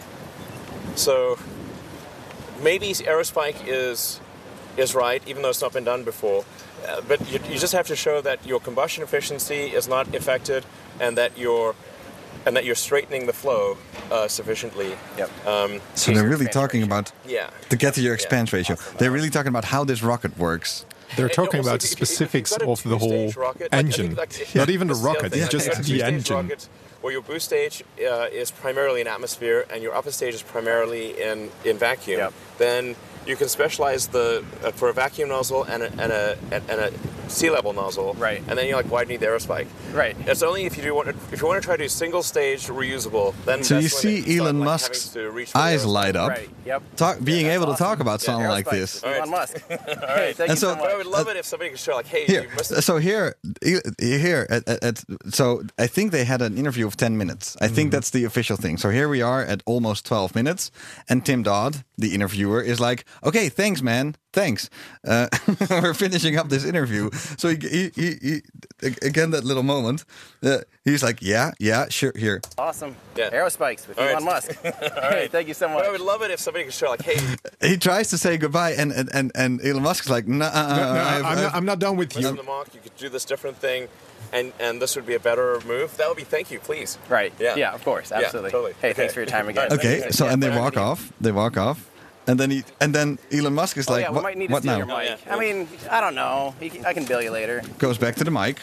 Speaker 10: So maybe Aerospike is is right, even though it's not been done before. Uh, but you, you just have to show that your combustion efficiency is not affected, and that you're and that you're straightening the flow uh, sufficiently.
Speaker 9: Yep.
Speaker 10: Um,
Speaker 5: so they're really talking ratio. about
Speaker 10: yeah.
Speaker 5: to get to your expanse yeah. ratio. They're really talking about how this rocket works.
Speaker 6: They're talking
Speaker 10: also,
Speaker 6: about
Speaker 10: if,
Speaker 6: specifics
Speaker 10: if
Speaker 6: of the whole
Speaker 10: rocket,
Speaker 6: engine,
Speaker 10: like, like,
Speaker 6: not
Speaker 10: yeah.
Speaker 6: even the rocket,
Speaker 10: the
Speaker 6: just
Speaker 10: like,
Speaker 6: the engine.
Speaker 10: Rocket, where your boost stage uh, is primarily in atmosphere and your upper stage is primarily in, in vacuum,
Speaker 9: yep.
Speaker 10: then you can specialize the uh, for a vacuum nozzle and a, and a and a sea level nozzle,
Speaker 9: right?
Speaker 10: And then you like, why do you need the Aerospike?
Speaker 9: Right.
Speaker 10: It's only if you do want to, if you want to try to do single stage reusable, then
Speaker 5: so
Speaker 10: that's
Speaker 5: you
Speaker 10: when
Speaker 5: see Elon
Speaker 10: like,
Speaker 5: Musk's
Speaker 10: eyes
Speaker 5: light up,
Speaker 9: right? Yep.
Speaker 5: Talk, being
Speaker 9: yeah,
Speaker 5: able
Speaker 9: awesome.
Speaker 5: to talk about something
Speaker 9: yeah,
Speaker 5: like this.
Speaker 10: Right.
Speaker 9: Elon Musk.
Speaker 10: All
Speaker 9: hey,
Speaker 10: right.
Speaker 9: thank
Speaker 5: and
Speaker 9: you
Speaker 5: so,
Speaker 9: so much.
Speaker 10: I would love
Speaker 5: uh,
Speaker 10: it if somebody could show like, hey,
Speaker 5: here.
Speaker 10: you must
Speaker 5: So here, here, at, at, at, so I think they had an interview of ten minutes. I mm. think that's the official thing. So here we are at almost twelve minutes, and Tim Dodd, the interviewer, is like, "Okay, thanks, man, thanks. Uh, we're finishing up this interview." So he, he, he, he again, that little moment, uh, he's like, "Yeah, yeah, sure, here."
Speaker 9: Awesome.
Speaker 10: Yeah.
Speaker 9: Aerospikes with
Speaker 10: All
Speaker 9: Elon
Speaker 10: right.
Speaker 9: Musk.
Speaker 10: All
Speaker 9: hey,
Speaker 10: right.
Speaker 9: thank you so much.
Speaker 10: But I would love it if somebody could show like, hey.
Speaker 5: He tries to say goodbye, and and and, and Elon Musk is like, "No, uh,
Speaker 6: no, no
Speaker 5: I've,
Speaker 6: I'm, not, I'm not done with you."
Speaker 10: On the mark, you could do this different thing, and and this would be a better move. That would be thank you, please.
Speaker 9: Right.
Speaker 10: Yeah.
Speaker 9: Yeah. Of course. Absolutely.
Speaker 10: Yeah, totally.
Speaker 9: Hey,
Speaker 10: Okay.
Speaker 9: thanks for your time again.
Speaker 5: Okay, so
Speaker 9: yeah,
Speaker 5: and they
Speaker 9: whatever
Speaker 5: walk
Speaker 9: you need.
Speaker 5: off. They walk off, and then he and then Elon Musk is
Speaker 9: Oh,
Speaker 5: like,
Speaker 9: yeah, we
Speaker 5: "What,
Speaker 9: might need to
Speaker 5: what
Speaker 9: steal
Speaker 5: now?"
Speaker 9: your mic.
Speaker 10: Yeah.
Speaker 9: I mean, I don't know. He can- I can bill you later.
Speaker 5: Goes back to the mic.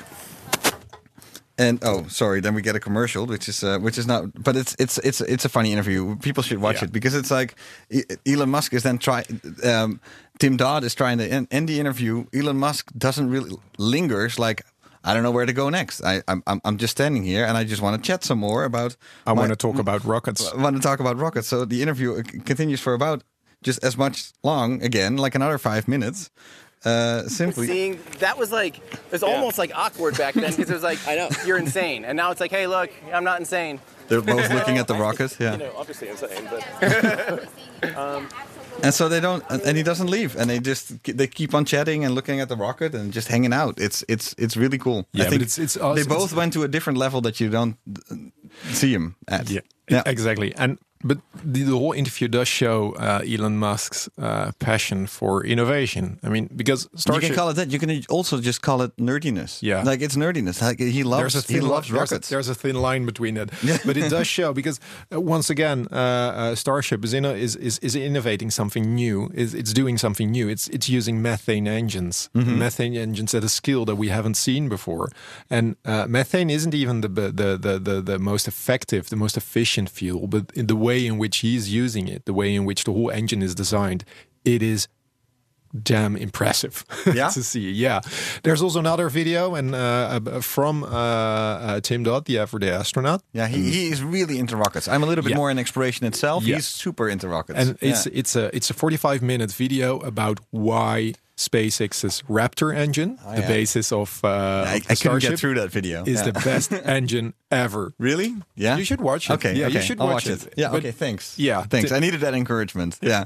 Speaker 5: And oh, sorry. Then we get a commercial, which is uh, which is not, but it's it's it's it's a funny interview. People should watch
Speaker 6: Yeah.
Speaker 5: it because it's like E- Elon Musk is then trying. Um, Tim Dodd is trying to end, end the interview. Elon Musk doesn't really lingers. Like, I don't know where to go next. I I'm I'm I'm just standing here and I just want to chat some more about.
Speaker 6: I
Speaker 5: my-
Speaker 6: want to talk about rockets.
Speaker 5: I want to talk about rockets. So the interview c- continues for about just as much long again, like another five minutes. Uh, simply.
Speaker 9: Seeing that was like it was almost like awkward back then because it was like I know you're insane, and now it's like, hey, look, I'm not insane.
Speaker 5: They're both looking at the rocket. Yeah.
Speaker 10: You know, obviously insane, but
Speaker 9: Um,
Speaker 5: And so they don't, and he doesn't leave, and they just they keep on chatting and looking at the rocket and just hanging out. It's it's it's really cool.
Speaker 6: Yeah,
Speaker 5: I think
Speaker 6: but it's it's also,
Speaker 5: they both went to a different level that you don't uh, see him at.
Speaker 6: Yeah,
Speaker 5: yeah.
Speaker 6: exactly. And But the, the whole interview does show uh, Elon Musk's uh, passion for innovation. I mean, because Starship,
Speaker 5: you can call it that. You can also just call it nerdiness.
Speaker 6: Yeah,
Speaker 5: like it's nerdiness. Like he loves.
Speaker 6: There's a thin
Speaker 5: he loves
Speaker 6: li-
Speaker 5: rockets.
Speaker 6: There's a, there's a thin line between it, but it does show because uh, once again, uh, uh, Starship is, in a, is is is innovating something new. Is it's doing something new. It's it's using methane engines. Mm-hmm. Methane engines at a skill that we haven't seen before. And uh, methane isn't even the, the the the the most effective, the most efficient fuel, but in the way in which he's using it, the way in which the whole engine is designed, it is damn impressive
Speaker 5: yeah?
Speaker 6: to see. Yeah. There's also another video and uh, from uh, uh, Tim Dodd, the everyday astronaut.
Speaker 5: Yeah, he, he is really into rockets. I'm a little bit
Speaker 6: yeah.
Speaker 5: more in exploration itself.
Speaker 6: Yeah.
Speaker 5: He's super into rockets.
Speaker 6: And it's
Speaker 5: yeah.
Speaker 6: it's a it's a forty-five minute video about why SpaceX's Raptor engine,
Speaker 5: oh,
Speaker 6: the
Speaker 5: yeah.
Speaker 6: basis of, uh,
Speaker 5: I,
Speaker 6: of the
Speaker 5: I couldn't
Speaker 6: Starship,
Speaker 5: get through that video.
Speaker 6: is
Speaker 5: yeah.
Speaker 6: the best engine ever.
Speaker 5: Really? Yeah.
Speaker 6: You should watch it.
Speaker 5: Okay.
Speaker 6: Yeah,
Speaker 5: okay.
Speaker 6: you should
Speaker 5: I'll
Speaker 6: watch,
Speaker 5: watch
Speaker 6: it.
Speaker 5: it. Yeah.
Speaker 6: But
Speaker 5: okay. Thanks.
Speaker 6: Yeah.
Speaker 5: Thanks.
Speaker 6: T-
Speaker 5: I needed that encouragement. Yeah.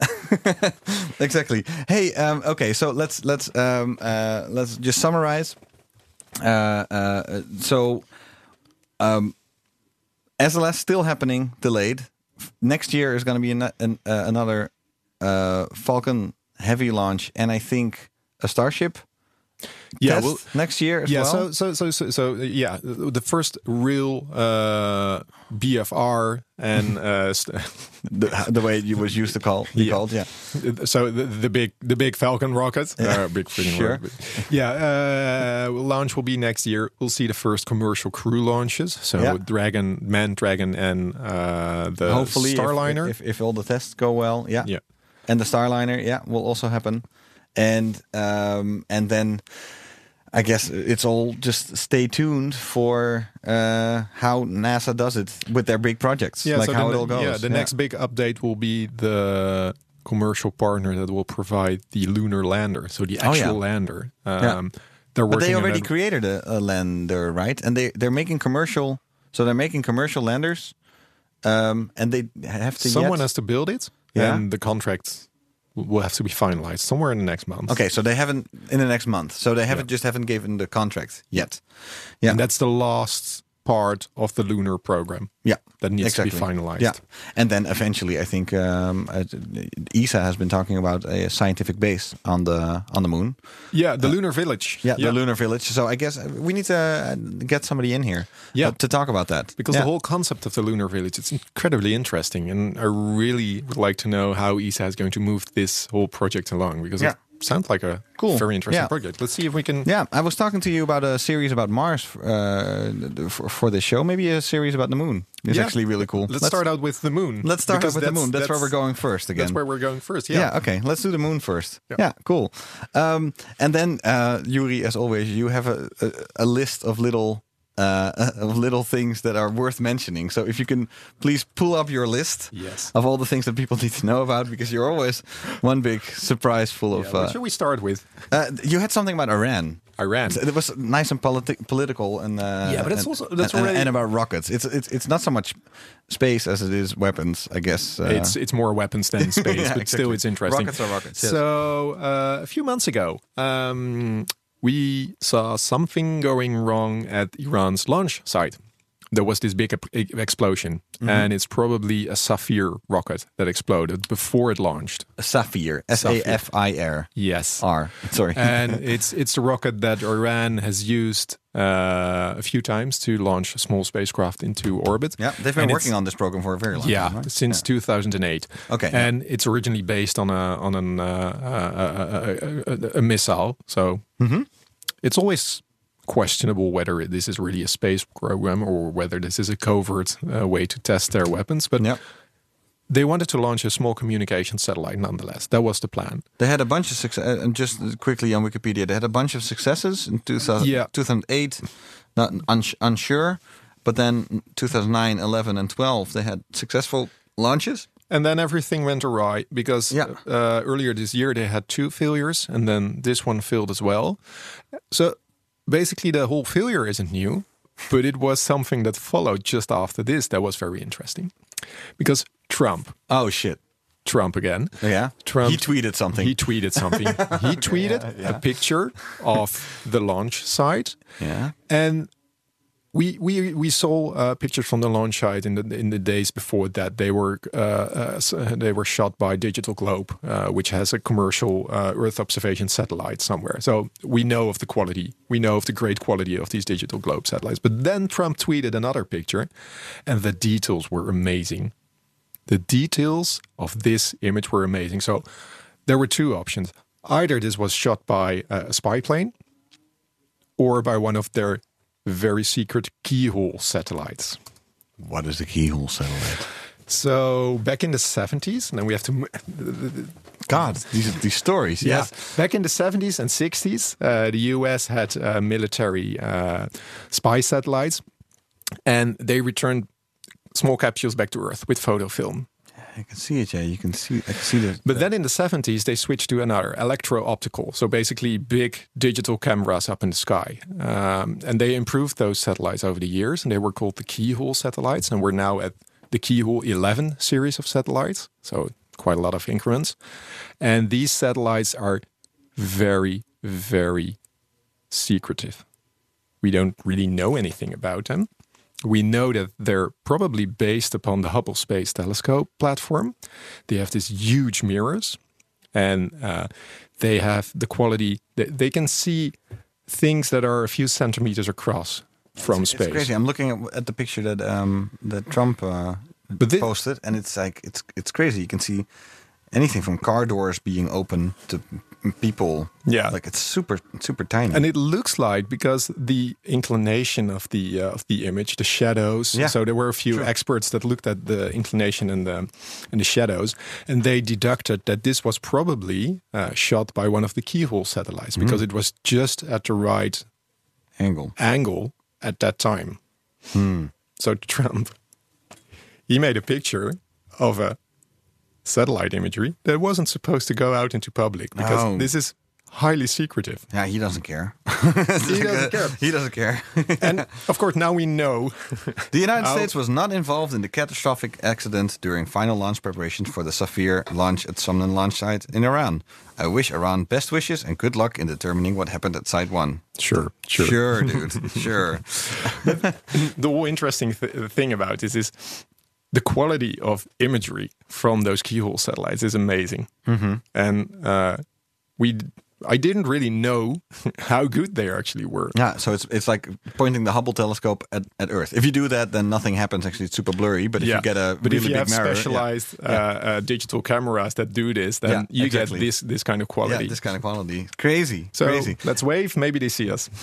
Speaker 5: Exactly. Hey. Um, okay. So let's let's um, uh, let's just summarize. Uh, uh, so, um, S L S still happening, delayed. Next year is going to be an, an, uh, another uh, Falcon Heavy launch, and I think a Starship.
Speaker 6: Yeah,
Speaker 5: test
Speaker 6: well,
Speaker 5: next year as
Speaker 6: yeah,
Speaker 5: well.
Speaker 6: so, so so so so yeah, the first real uh, B F R and uh, st-
Speaker 5: the, the way it was used to call be
Speaker 6: yeah.
Speaker 5: called, yeah.
Speaker 6: So the, the big the big Falcon rocket,
Speaker 5: Yeah.
Speaker 6: uh, big freaking
Speaker 5: Sure.
Speaker 6: rocket. Yeah, uh, launch will be next year. We'll see the first commercial crew launches. So
Speaker 5: Yeah.
Speaker 6: Dragon, Man Dragon, and uh, the
Speaker 5: Hopefully, if-
Speaker 6: Starliner.
Speaker 5: If, if, if all the tests go well, yeah.
Speaker 6: Yeah.
Speaker 5: And the Starliner, yeah, will also happen. And um, and then I guess it's all just stay tuned for uh, how NASA does it with their big projects,
Speaker 6: Yeah,
Speaker 5: like
Speaker 6: so
Speaker 5: how
Speaker 6: the,
Speaker 5: it all goes.
Speaker 6: Yeah, the next big update will be the commercial partner that will provide the lunar lander, so the
Speaker 5: Oh,
Speaker 6: actual
Speaker 5: yeah.
Speaker 6: lander. Um,
Speaker 5: Yeah.
Speaker 6: They're
Speaker 5: But
Speaker 6: working
Speaker 5: they
Speaker 6: on
Speaker 5: already
Speaker 6: that-
Speaker 5: created a, a lander, right? And they they're making commercial, so they're making commercial landers, um, and they have to.
Speaker 6: Someone
Speaker 5: yet,
Speaker 6: has to build it,
Speaker 5: Yeah.
Speaker 6: and the contract will have to be finalized somewhere in the next month.
Speaker 5: Okay, so they haven't in the next month. So they haven't just haven't given the contract yet. Yeah,
Speaker 6: And that's the last part of the lunar program.
Speaker 5: yeah,
Speaker 6: That needs
Speaker 5: exactly.
Speaker 6: to be finalized.
Speaker 5: Yeah, and then eventually, I think um, uh, E S A has been talking about a scientific base on the on the moon.
Speaker 6: Yeah, the lunar village.
Speaker 5: Yeah, the lunar village. So I guess we need to uh, get somebody in here.
Speaker 6: Yeah.
Speaker 5: uh, to talk about that
Speaker 6: Because
Speaker 5: yeah.
Speaker 6: the whole concept of the lunar village, it's incredibly interesting. And I really would like to know how E S A is going to move this whole project along. Because
Speaker 5: Yeah.
Speaker 6: it sounds like a
Speaker 5: Cool.
Speaker 6: very interesting
Speaker 5: Yeah.
Speaker 6: project. Let's see if we can...
Speaker 5: Yeah, I was talking to you about a series about Mars uh, for, for this show. Maybe a series about the moon is
Speaker 6: Yeah.
Speaker 5: actually really cool.
Speaker 6: Let's, start out with the moon.
Speaker 5: Let's start
Speaker 6: because
Speaker 5: out with the moon. That's, where we're going first again.
Speaker 6: That's where we're going first, yeah.
Speaker 5: Yeah. Okay. Let's do the moon first.
Speaker 6: Yeah.
Speaker 5: Yeah. Cool. Um, and then, uh, Yuri, as always, you have a, a, a list of little uh, of little things that are worth mentioning. So if you can please pull up your list
Speaker 6: Yes.
Speaker 5: of all the things that people need to know about, because you're always one big surprise full
Speaker 6: Yeah,
Speaker 5: of.
Speaker 6: what
Speaker 5: Uh,
Speaker 6: should we start with?
Speaker 5: uh, you had something about Iran.
Speaker 6: Iran.
Speaker 5: It was nice and politi- political, and uh,
Speaker 6: Yeah, but it's
Speaker 5: and,
Speaker 6: also- that's
Speaker 5: and,
Speaker 6: already-
Speaker 5: and about rockets. It's it's it's not so much space as it is weapons, I guess. Uh,
Speaker 6: it's it's more weapons than space,
Speaker 5: Yeah,
Speaker 6: but still
Speaker 5: exactly.
Speaker 6: it's interesting.
Speaker 5: Rockets are rockets, yes.
Speaker 6: So uh, a few months ago, um, we saw something going wrong at Iran's launch site. There was this big ep- e- explosion,
Speaker 5: Mm-hmm.
Speaker 6: and it's probably a Sapphire rocket that exploded before it launched.
Speaker 5: a Sapphire, S A F I R.
Speaker 6: Yes.
Speaker 5: R. Sorry.
Speaker 6: And it's it's the rocket that Iran has used uh, a few times to launch a small spacecraft into orbit.
Speaker 5: yeah, they've been
Speaker 6: And
Speaker 5: working
Speaker 6: it's-
Speaker 5: on this program for a very long
Speaker 6: Yeah,
Speaker 5: time, right?
Speaker 6: since two thousand eight.
Speaker 5: Okay, yeah.
Speaker 6: and it's originally based on a on an, uh, uh, uh, uh, a, a missile. So
Speaker 5: Mm-hmm.
Speaker 6: it's always questionable whether this is really a space program or whether this is a covert uh, way to test their weapons. But
Speaker 5: Yeah.
Speaker 6: they wanted to launch a small communication satellite nonetheless. That was the plan.
Speaker 5: They had a bunch of success. And just quickly on Wikipedia, they had a bunch of successes in two thousand,
Speaker 6: Yeah.
Speaker 5: two thousand eight, not uns- unsure. But then two thousand nine, eleven, and twelve, they had successful launches.
Speaker 6: And then everything went awry because
Speaker 5: Yeah.
Speaker 6: uh, earlier this year they had two failures, and then this one failed as well. So basically, the whole failure isn't new, but it was something that followed just after this that was very interesting. Because Trump,
Speaker 5: Oh, shit.
Speaker 6: Trump again,
Speaker 5: Yeah.
Speaker 6: Trump,
Speaker 5: He tweeted something.
Speaker 6: He tweeted something. He tweeted a picture of the launch site,
Speaker 5: yeah.
Speaker 6: and we we we saw uh, pictures from the launch site in the in the days before that. They were uh, uh, they were shot by Digital Globe, uh, which has a commercial uh, Earth observation satellite somewhere. So we know of the quality. We know of the great quality of these Digital Globe satellites. But then Trump tweeted another picture, and the details were amazing. The details of this image were amazing. So there were two options. Either this was shot by a spy plane, or by one of their very secret keyhole satellites.
Speaker 5: What is the keyhole satellite?
Speaker 6: So back in the seventies, and then we have to...
Speaker 5: God, these these stories,
Speaker 6: yeah.
Speaker 5: yes.
Speaker 6: Back in the seventies and sixties, uh, the U S had uh, military uh, spy satellites, and they returned small capsules back to Earth with photofilm.
Speaker 5: I can see it, yeah. You can see, I can see the.
Speaker 6: But then in the seventies, they switched to another, electro-optical. So basically big digital cameras up in the sky. Um, and they improved those satellites over the years, and they were called the keyhole satellites. And we're now at the keyhole eleven series of satellites. So quite a lot of increments. And these satellites are very, very secretive. We don't really know anything about them. We know that they're probably based upon the Hubble Space Telescope platform. They have these huge mirrors, and uh, they have the quality that they can see things that are a few centimeters across from
Speaker 5: it's,
Speaker 6: space.
Speaker 5: It's crazy. I'm looking at, at the picture that um, that Trump uh,
Speaker 6: but this,
Speaker 5: posted, and it's like it's it's crazy. You can see anything from car doors being open to people.
Speaker 6: Yeah,
Speaker 5: like it's super super tiny,
Speaker 6: and it looks like because the inclination of the uh, of the image, the shadows.
Speaker 5: Yeah.
Speaker 6: So there were a few
Speaker 5: True.
Speaker 6: experts that looked at the inclination and the and the shadows, and they deducted that this was probably uh, shot by one of the keyhole satellites
Speaker 5: Mm-hmm.
Speaker 6: because it was just at the right
Speaker 5: angle
Speaker 6: angle at that time.
Speaker 5: Hmm.
Speaker 6: So Trump, he made a picture of a satellite imagery that wasn't supposed to go out into public because
Speaker 5: Oh.
Speaker 6: this is highly secretive.
Speaker 5: Yeah, he doesn't care.
Speaker 6: He doesn't care.
Speaker 5: He doesn't care.
Speaker 6: And of course, now we know.
Speaker 5: The United
Speaker 6: how-
Speaker 5: States was not involved in the catastrophic accident during final launch preparations for the Safir launch at Somnan launch site in Iran. I wish Iran best wishes and good luck in determining what happened at Site one.
Speaker 6: Sure, sure.
Speaker 5: Sure, dude. Sure.
Speaker 6: The whole interesting th- thing about this is the quality of imagery from those keyhole satellites is amazing.
Speaker 5: Mm-hmm.
Speaker 6: And uh, we, I didn't really know how good they actually were.
Speaker 5: Yeah, so it's it's like pointing the Hubble telescope at, at Earth. If you do that, then nothing happens. Actually, it's super blurry. But if
Speaker 6: yeah.
Speaker 5: you get a
Speaker 6: but
Speaker 5: really
Speaker 6: if you
Speaker 5: big
Speaker 6: have
Speaker 5: mirror,
Speaker 6: specialized
Speaker 5: yeah.
Speaker 6: Uh, uh, digital cameras that do this, then
Speaker 5: Yeah,
Speaker 6: you
Speaker 5: exactly.
Speaker 6: get this this kind of quality.
Speaker 5: Yeah, this kind of quality. Crazy.
Speaker 6: So
Speaker 5: Crazy.
Speaker 6: let's wave. Maybe they see us.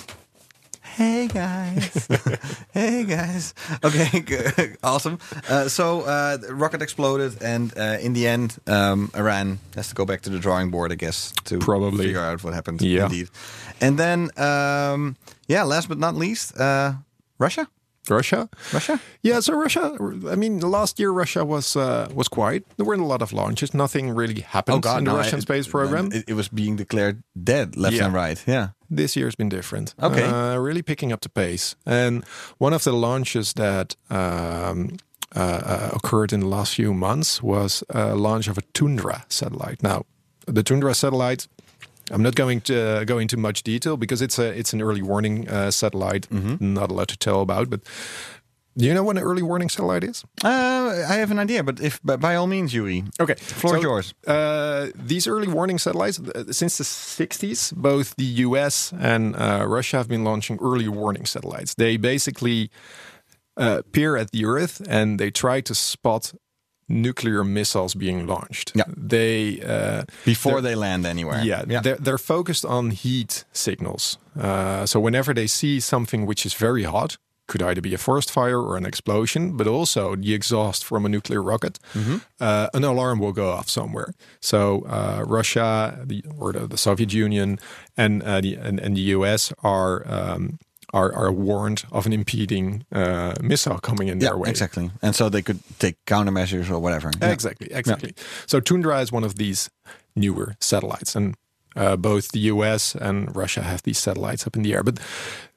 Speaker 5: Hey guys, hey guys. Okay, good. Awesome. Uh, so uh, the rocket exploded, and uh, in the end, um, Iran has to go back to the drawing board, I guess, to
Speaker 6: Probably.
Speaker 5: figure out what happened.
Speaker 6: Yeah.
Speaker 5: Indeed. And then, um, yeah, last but not least, uh, Russia.
Speaker 6: Russia,
Speaker 5: Russia.
Speaker 6: Yeah, so Russia. I mean, last year Russia was uh, was quiet. There weren't a lot of launches. Nothing really happened in the
Speaker 5: no,
Speaker 6: Russian
Speaker 5: it-
Speaker 6: space program.
Speaker 5: It, it was being declared dead left
Speaker 6: Yeah.
Speaker 5: and right. Yeah.
Speaker 6: This year's been different.
Speaker 5: Okay.
Speaker 6: Uh, really picking up the pace. And one of the launches that um, uh, uh, occurred in the last few months was a launch of a Tundra satellite. Now, the Tundra satellite, I'm not going to uh, go into much detail because it's a it's an early warning uh, satellite.
Speaker 5: Mm-hmm.
Speaker 6: Not a lot to tell about, but do you know what an early warning satellite is?
Speaker 5: Uh, I have an idea, but if by, by all means, Yuri.
Speaker 6: Okay,
Speaker 5: floor
Speaker 6: so,
Speaker 5: is yours.
Speaker 6: Uh, these early warning satellites, uh, since the sixties, both the U S and uh, Russia have been launching early warning satellites. They basically uh, peer at the Earth and they try to spot nuclear missiles being launched.
Speaker 5: Yeah.
Speaker 6: They uh,
Speaker 5: Before they land anywhere.
Speaker 6: Yeah,
Speaker 5: yeah.
Speaker 6: They're, they're focused on heat signals. Uh, so whenever they see something which is very hot, could either be a forest fire or an explosion, but also the exhaust from a nuclear rocket,
Speaker 5: Mm-hmm.
Speaker 6: uh, an alarm will go off somewhere. So uh, Russia, the, or the, the Soviet Union, and, uh, the, and and the U S are um, are, are warned of an impeding uh, missile coming in
Speaker 5: Yeah,
Speaker 6: their way.
Speaker 5: exactly. And so they could take countermeasures or whatever. Yeah.
Speaker 6: Exactly, exactly. So Tundra is one of these newer satellites, and uh, both the U S and Russia have these satellites up in the air. But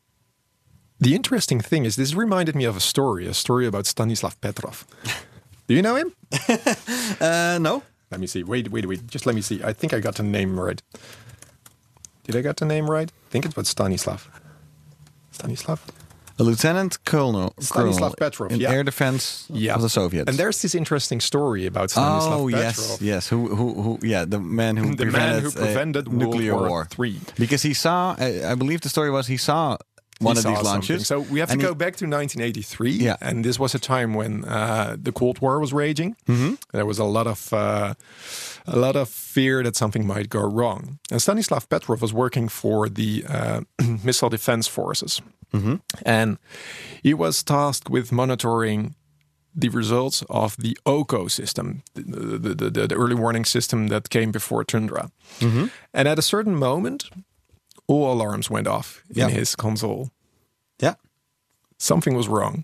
Speaker 6: the interesting thing is, this reminded me of a story, a story about Stanislav Petrov. Do you know him?
Speaker 5: Uh, no.
Speaker 6: Let me see. Wait, wait, wait. Just let me see. I think I got the name right. Did I get the name right? I think it's about Stanislav. Stanislav?
Speaker 5: A lieutenant colonel,
Speaker 6: Stanislav
Speaker 5: colonel
Speaker 6: Petrov,
Speaker 5: in
Speaker 6: yeah.
Speaker 5: air defense
Speaker 6: Yeah.
Speaker 5: of the Soviets.
Speaker 6: And there's this interesting story about Stanislav
Speaker 5: oh
Speaker 6: Petrov.
Speaker 5: yes, yes. Who, who, who? Yeah, the man who
Speaker 6: The man
Speaker 5: prevented,
Speaker 6: who prevented
Speaker 5: uh,
Speaker 6: World
Speaker 5: nuclear
Speaker 6: War
Speaker 5: war.
Speaker 6: Three.
Speaker 5: Because he saw, I, I believe the story was he saw
Speaker 6: He
Speaker 5: one of
Speaker 6: saw
Speaker 5: these launches.
Speaker 6: something. So we have to
Speaker 5: and
Speaker 6: go
Speaker 5: he-
Speaker 6: back to nineteen eighty-three.
Speaker 5: Yeah.
Speaker 6: And this was a time when uh, the Cold War was raging.
Speaker 5: Mhm.
Speaker 6: There was a lot of uh, a lot of fear that something might go wrong. And Stanislav Petrov was working for the uh, Missile Defense Forces.
Speaker 5: Mhm.
Speaker 6: And he was tasked with monitoring the results of the O C O system, the, the, the, the early warning system that came before Tundra.
Speaker 5: Mhm.
Speaker 6: And at a certain moment, all alarms went off in
Speaker 5: Yeah.
Speaker 6: his console.
Speaker 5: Yeah.
Speaker 6: Something was wrong.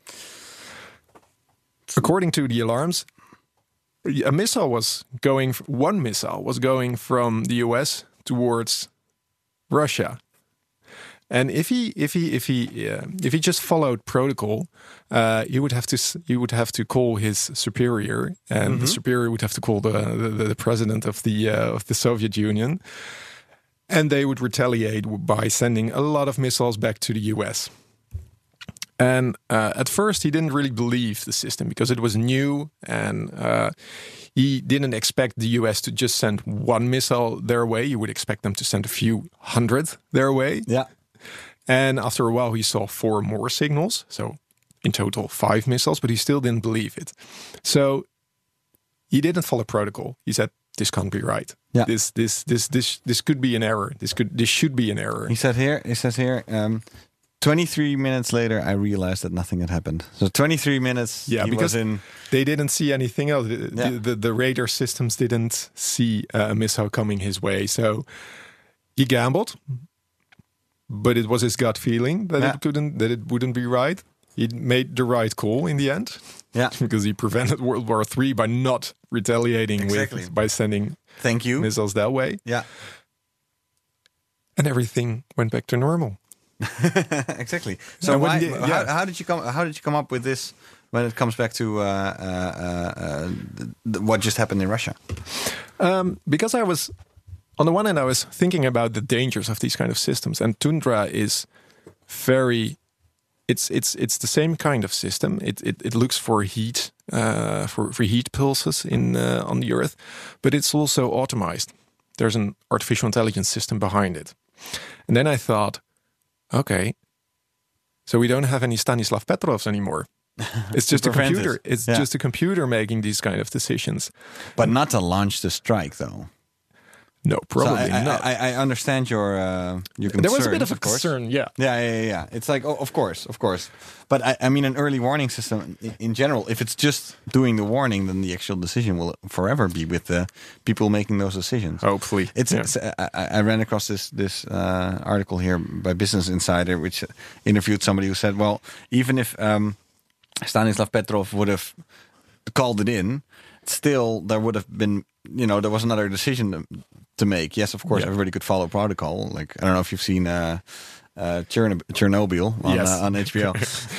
Speaker 6: According to the alarms, a missile was going, one missile was going from the U S towards Russia. And if he, if he, if he, uh, if he just followed protocol, uh, he would have to, s- he would have to call his superior, and the superior would have to call the the, the president of the uh, of the Soviet Union, and they would retaliate by sending a lot of missiles back to the U S. And uh, at first, he didn't really believe the system because it was new, and uh, he didn't expect the U S to just send one missile their way. You would expect them to send a few hundred their way.
Speaker 5: Yeah.
Speaker 6: And after a while, he saw four more signals. So in total, five missiles, but he still didn't believe it. So he didn't follow protocol. He said, this can't be right.
Speaker 5: Yeah.
Speaker 6: This, this, this, this, this could be an error. This could, this should be an error.
Speaker 5: He said here. He says here. Um, twenty-three minutes later, I realized that nothing had happened. So twenty-three minutes.
Speaker 6: Yeah,
Speaker 5: he
Speaker 6: because
Speaker 5: was in.
Speaker 6: they didn't see anything else. The,
Speaker 5: Yeah.
Speaker 6: the, the, the radar systems didn't see uh, a missile coming his way. So he gambled, but it was his gut feeling that
Speaker 5: Yeah.
Speaker 6: it couldn't, that it wouldn't be right. He made the right call in the end.
Speaker 5: Yeah.
Speaker 6: Because he prevented World War Three by not retaliating
Speaker 5: Exactly.
Speaker 6: with by sending
Speaker 5: Thank you.
Speaker 6: missiles that way,
Speaker 5: Yeah.
Speaker 6: and everything went back to normal.
Speaker 5: Exactly. So
Speaker 6: And when
Speaker 5: why,
Speaker 6: the-
Speaker 5: how,
Speaker 6: yeah.
Speaker 5: how did you come? How did you come up with this? When it comes back to uh, uh, uh, uh, th- th- what just happened in Russia.
Speaker 6: Um, because I was, on the one hand, I was thinking about the dangers of these kind of systems, and Tundra is very, it's it's it's the same kind of system. It it, it looks for heat, uh, for for heat pulses in uh, on the Earth, but it's also automized. There's an artificial intelligence system behind it, and then I thought, okay, so we don't have any Stanislav Petrovs anymore. It's just a
Speaker 5: prevent
Speaker 6: computer.
Speaker 5: it.
Speaker 6: It's
Speaker 5: Yeah.
Speaker 6: just a computer making these kind of decisions.
Speaker 5: But not to launch the strike, though.
Speaker 6: No, probably
Speaker 5: so I,
Speaker 6: not.
Speaker 5: I, I I understand your uh, your concerns.
Speaker 6: There was a bit of a
Speaker 5: course.
Speaker 6: concern, yeah.
Speaker 5: Yeah, yeah, yeah, yeah. It's like, oh, of course, of course. But I, I mean, an early warning system in, in general, if it's just doing the warning, then the actual decision will forever be with the people making those decisions.
Speaker 6: Hopefully.
Speaker 5: It's,
Speaker 6: yeah.
Speaker 5: it's I, I ran across this this uh, article here by Business Insider, which interviewed somebody who said, well, even if um, Stanislav Petrov would have called it in, still there would have been, you know, there was another decision to, to make. Yes, of course,
Speaker 6: Yeah.
Speaker 5: everybody could follow protocol. Like, I don't know if you've seen uh, uh, Chernob- Chernobyl on,
Speaker 6: Yes.
Speaker 5: uh, on H B O.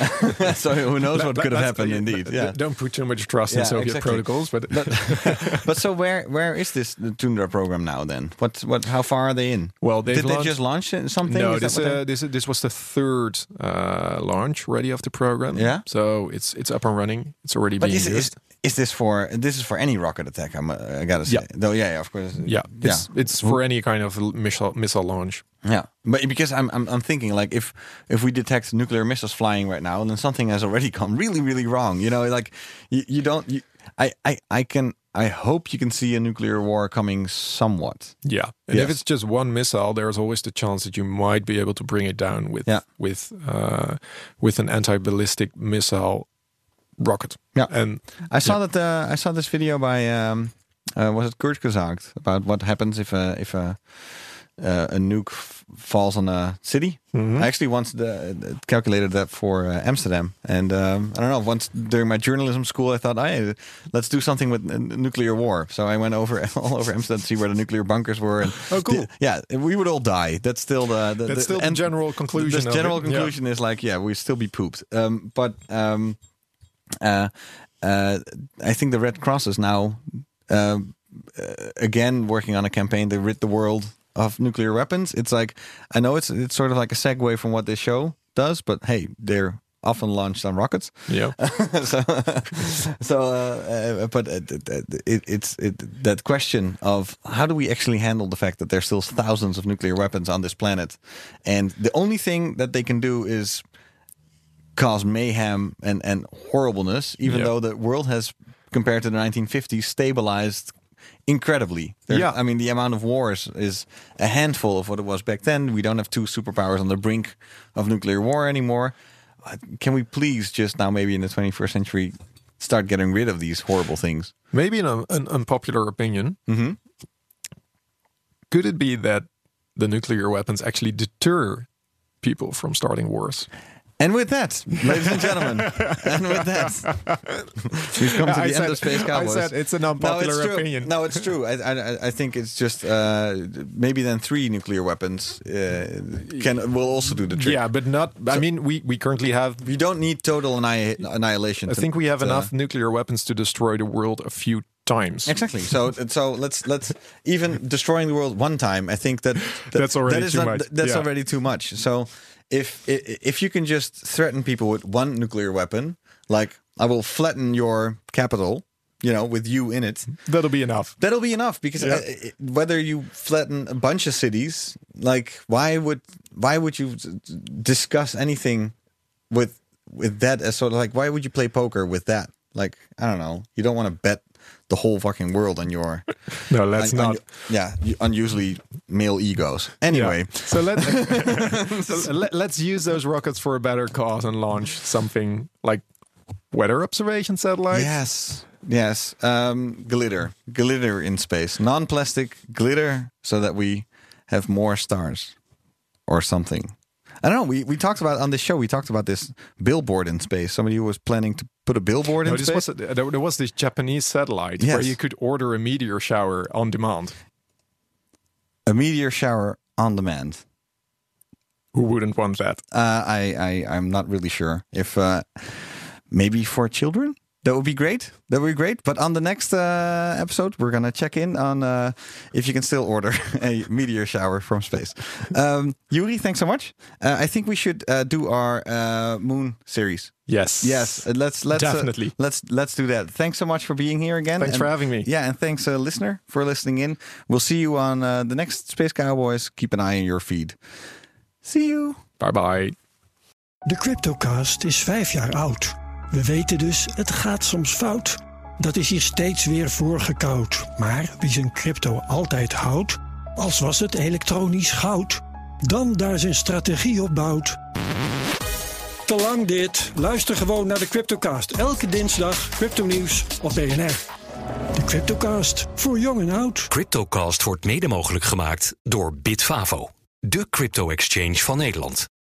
Speaker 5: So who knows what
Speaker 6: That-
Speaker 5: could have
Speaker 6: that's-
Speaker 5: happened,
Speaker 6: yeah,
Speaker 5: indeed.
Speaker 6: d-
Speaker 5: Yeah.
Speaker 6: Don't put too much trust in
Speaker 5: Yeah,
Speaker 6: Soviet
Speaker 5: exactly.
Speaker 6: protocols, but,
Speaker 5: But, but so where where is this the Tundra program now then? What what how far are they in?
Speaker 6: well, they've
Speaker 5: Did they
Speaker 6: launched,
Speaker 5: just launch it- something?
Speaker 6: No,
Speaker 5: Is that
Speaker 6: this,
Speaker 5: what they-
Speaker 6: uh, this this was the third uh, launch ready of the program.
Speaker 5: Yeah?
Speaker 6: so it's it's up and running. It's already
Speaker 5: But
Speaker 6: being
Speaker 5: is, is
Speaker 6: used.
Speaker 5: is this for this is for any rocket attack? I'm, uh, I gotta say,
Speaker 6: Yeah.
Speaker 5: though. Yeah, yeah, of course.
Speaker 6: yeah, it's it's for any kind of l- missile missile launch.
Speaker 5: Yeah, but because I'm, I'm I'm thinking like if if we detect nuclear missiles flying right now, then something has already gone really really wrong. You know, like you, you don't. You, I, I I can I hope you can see a nuclear war coming somewhat.
Speaker 6: Yeah, and
Speaker 5: Yes.
Speaker 6: if it's just one missile, there's always the chance that you might be able to bring it down with
Speaker 5: Yeah.
Speaker 6: with uh, with an anti-ballistic missile rocket.
Speaker 5: Yeah.
Speaker 6: and
Speaker 5: I saw that uh, I saw this video by um, uh, was it Kurt Gesagt about what happens if a if a uh, a nuke f- falls on a city.
Speaker 6: Mhm.
Speaker 5: I actually once the, calculated that for uh, Amsterdam, and um, I don't know. Once during my journalism school, I thought, "Hey, let's do something with uh, nuclear war." So I went over all over Amsterdam to see where the nuclear bunkers were. And
Speaker 6: Oh, cool.
Speaker 5: the- yeah, we would all die. That's still the, the
Speaker 6: That's still the
Speaker 5: end-
Speaker 6: general conclusion
Speaker 5: The
Speaker 6: of
Speaker 5: general
Speaker 6: it,
Speaker 5: conclusion is like, yeah, we'd still be pooped. Um, but um, uh, uh, I think the Red Cross is now uh, uh, again working on a campaign to rid the world of nuclear weapons. It's like, I know it's it's sort of like a segue from what this show does, but hey, they're often launched on rockets.
Speaker 6: Yeah.
Speaker 5: so, so, uh, uh, but it, it, it's it, that question of how do we actually handle the fact that there's still thousands of nuclear weapons on this planet, and the only thing that they can do is cause mayhem and and horribleness, even
Speaker 6: yeah.
Speaker 5: though the world has, compared to the nineteen fifties, stabilized incredibly. There,
Speaker 6: yeah.
Speaker 5: I mean, the amount of wars is a handful of what it was back then. We don't have two superpowers on the brink of nuclear war anymore. Uh, can we please just now, maybe in the twenty-first century, start getting rid of these horrible things?
Speaker 6: Maybe an, an unpopular opinion.
Speaker 5: Mm-hmm.
Speaker 6: Could it be that the nuclear weapons actually deter people from starting wars?
Speaker 5: And with that, ladies and gentlemen, and with that, we've come to the
Speaker 6: I
Speaker 5: end
Speaker 6: said,
Speaker 5: of Space Cowboys.
Speaker 6: I said it's an unpopular
Speaker 5: no, it's
Speaker 6: opinion.
Speaker 5: No, it's true. I, I, I think it's just uh, maybe then three nuclear weapons uh, can will also do the trick.
Speaker 6: Yeah, but not. So, I mean, we, we currently have.
Speaker 5: You don't need total anni- annihilation.
Speaker 6: I
Speaker 5: to,
Speaker 6: think we have
Speaker 5: to,
Speaker 6: enough nuclear weapons to destroy the world a few times.
Speaker 5: Exactly. So so let's let's even destroying the world one time. I think that, that
Speaker 6: that's already
Speaker 5: that is
Speaker 6: too
Speaker 5: not,
Speaker 6: much.
Speaker 5: That's
Speaker 6: yeah.
Speaker 5: already too much. So. If if you can just threaten people with one nuclear weapon, like I will flatten your capital, you know, with you in it,
Speaker 6: that'll be enough.
Speaker 5: That'll be enough because
Speaker 6: yeah.
Speaker 5: uh, whether you flatten a bunch of cities, like why would why would you discuss anything with with that as sort of like why would you play poker with that? Like I don't know, you don't want to bet the whole fucking world on your
Speaker 6: no let's
Speaker 5: on,
Speaker 6: not
Speaker 5: on, yeah unusually male egos anyway
Speaker 6: yeah. so let's so let, let's use those rockets for a better cause and launch something like weather observation satellites.
Speaker 5: Yes yes um glitter glitter in space, non-plastic glitter, so that we have more stars or something. I don't know. We we talked about on the show. We talked about this billboard in space. Somebody who was planning to put a billboard
Speaker 6: no,
Speaker 5: in
Speaker 6: this
Speaker 5: space.
Speaker 6: Was a, there was this Japanese satellite
Speaker 5: yes.
Speaker 6: where you could order a meteor shower on demand.
Speaker 5: A meteor shower on demand.
Speaker 6: Who wouldn't want that?
Speaker 5: Uh, I I I'm not really sure if uh, maybe for children. That would be great. That would be great. But on the next uh, episode, we're going to check in on uh, if you can still order a meteor shower from space. Um, Yuri, thanks so much. Uh, I think we should uh, do our uh, moon series.
Speaker 6: Yes.
Speaker 5: Yes. Uh, let's let's
Speaker 6: definitely
Speaker 5: uh, let's let's do that. Thanks so much for being here again.
Speaker 6: Thanks
Speaker 5: and,
Speaker 6: for having me.
Speaker 5: Yeah, and thanks, uh, listener, for listening in. We'll see you on uh, the next Space Cowboys. Keep an eye on your feed. See you.
Speaker 6: Bye bye.
Speaker 1: De CryptoCast is vijf jaar oud. We weten dus, het gaat soms fout. Dat is hier steeds weer voorgekoud. Maar wie zijn crypto altijd houdt, als was het elektronisch goud, dan daar zijn strategie op bouwt. Te lang dit. Luister gewoon naar de CryptoCast. Elke dinsdag crypto-nieuws op B N R. De CryptoCast, voor jong en oud.
Speaker 2: CryptoCast wordt mede mogelijk gemaakt door Bitfavo, de crypto-exchange van Nederland.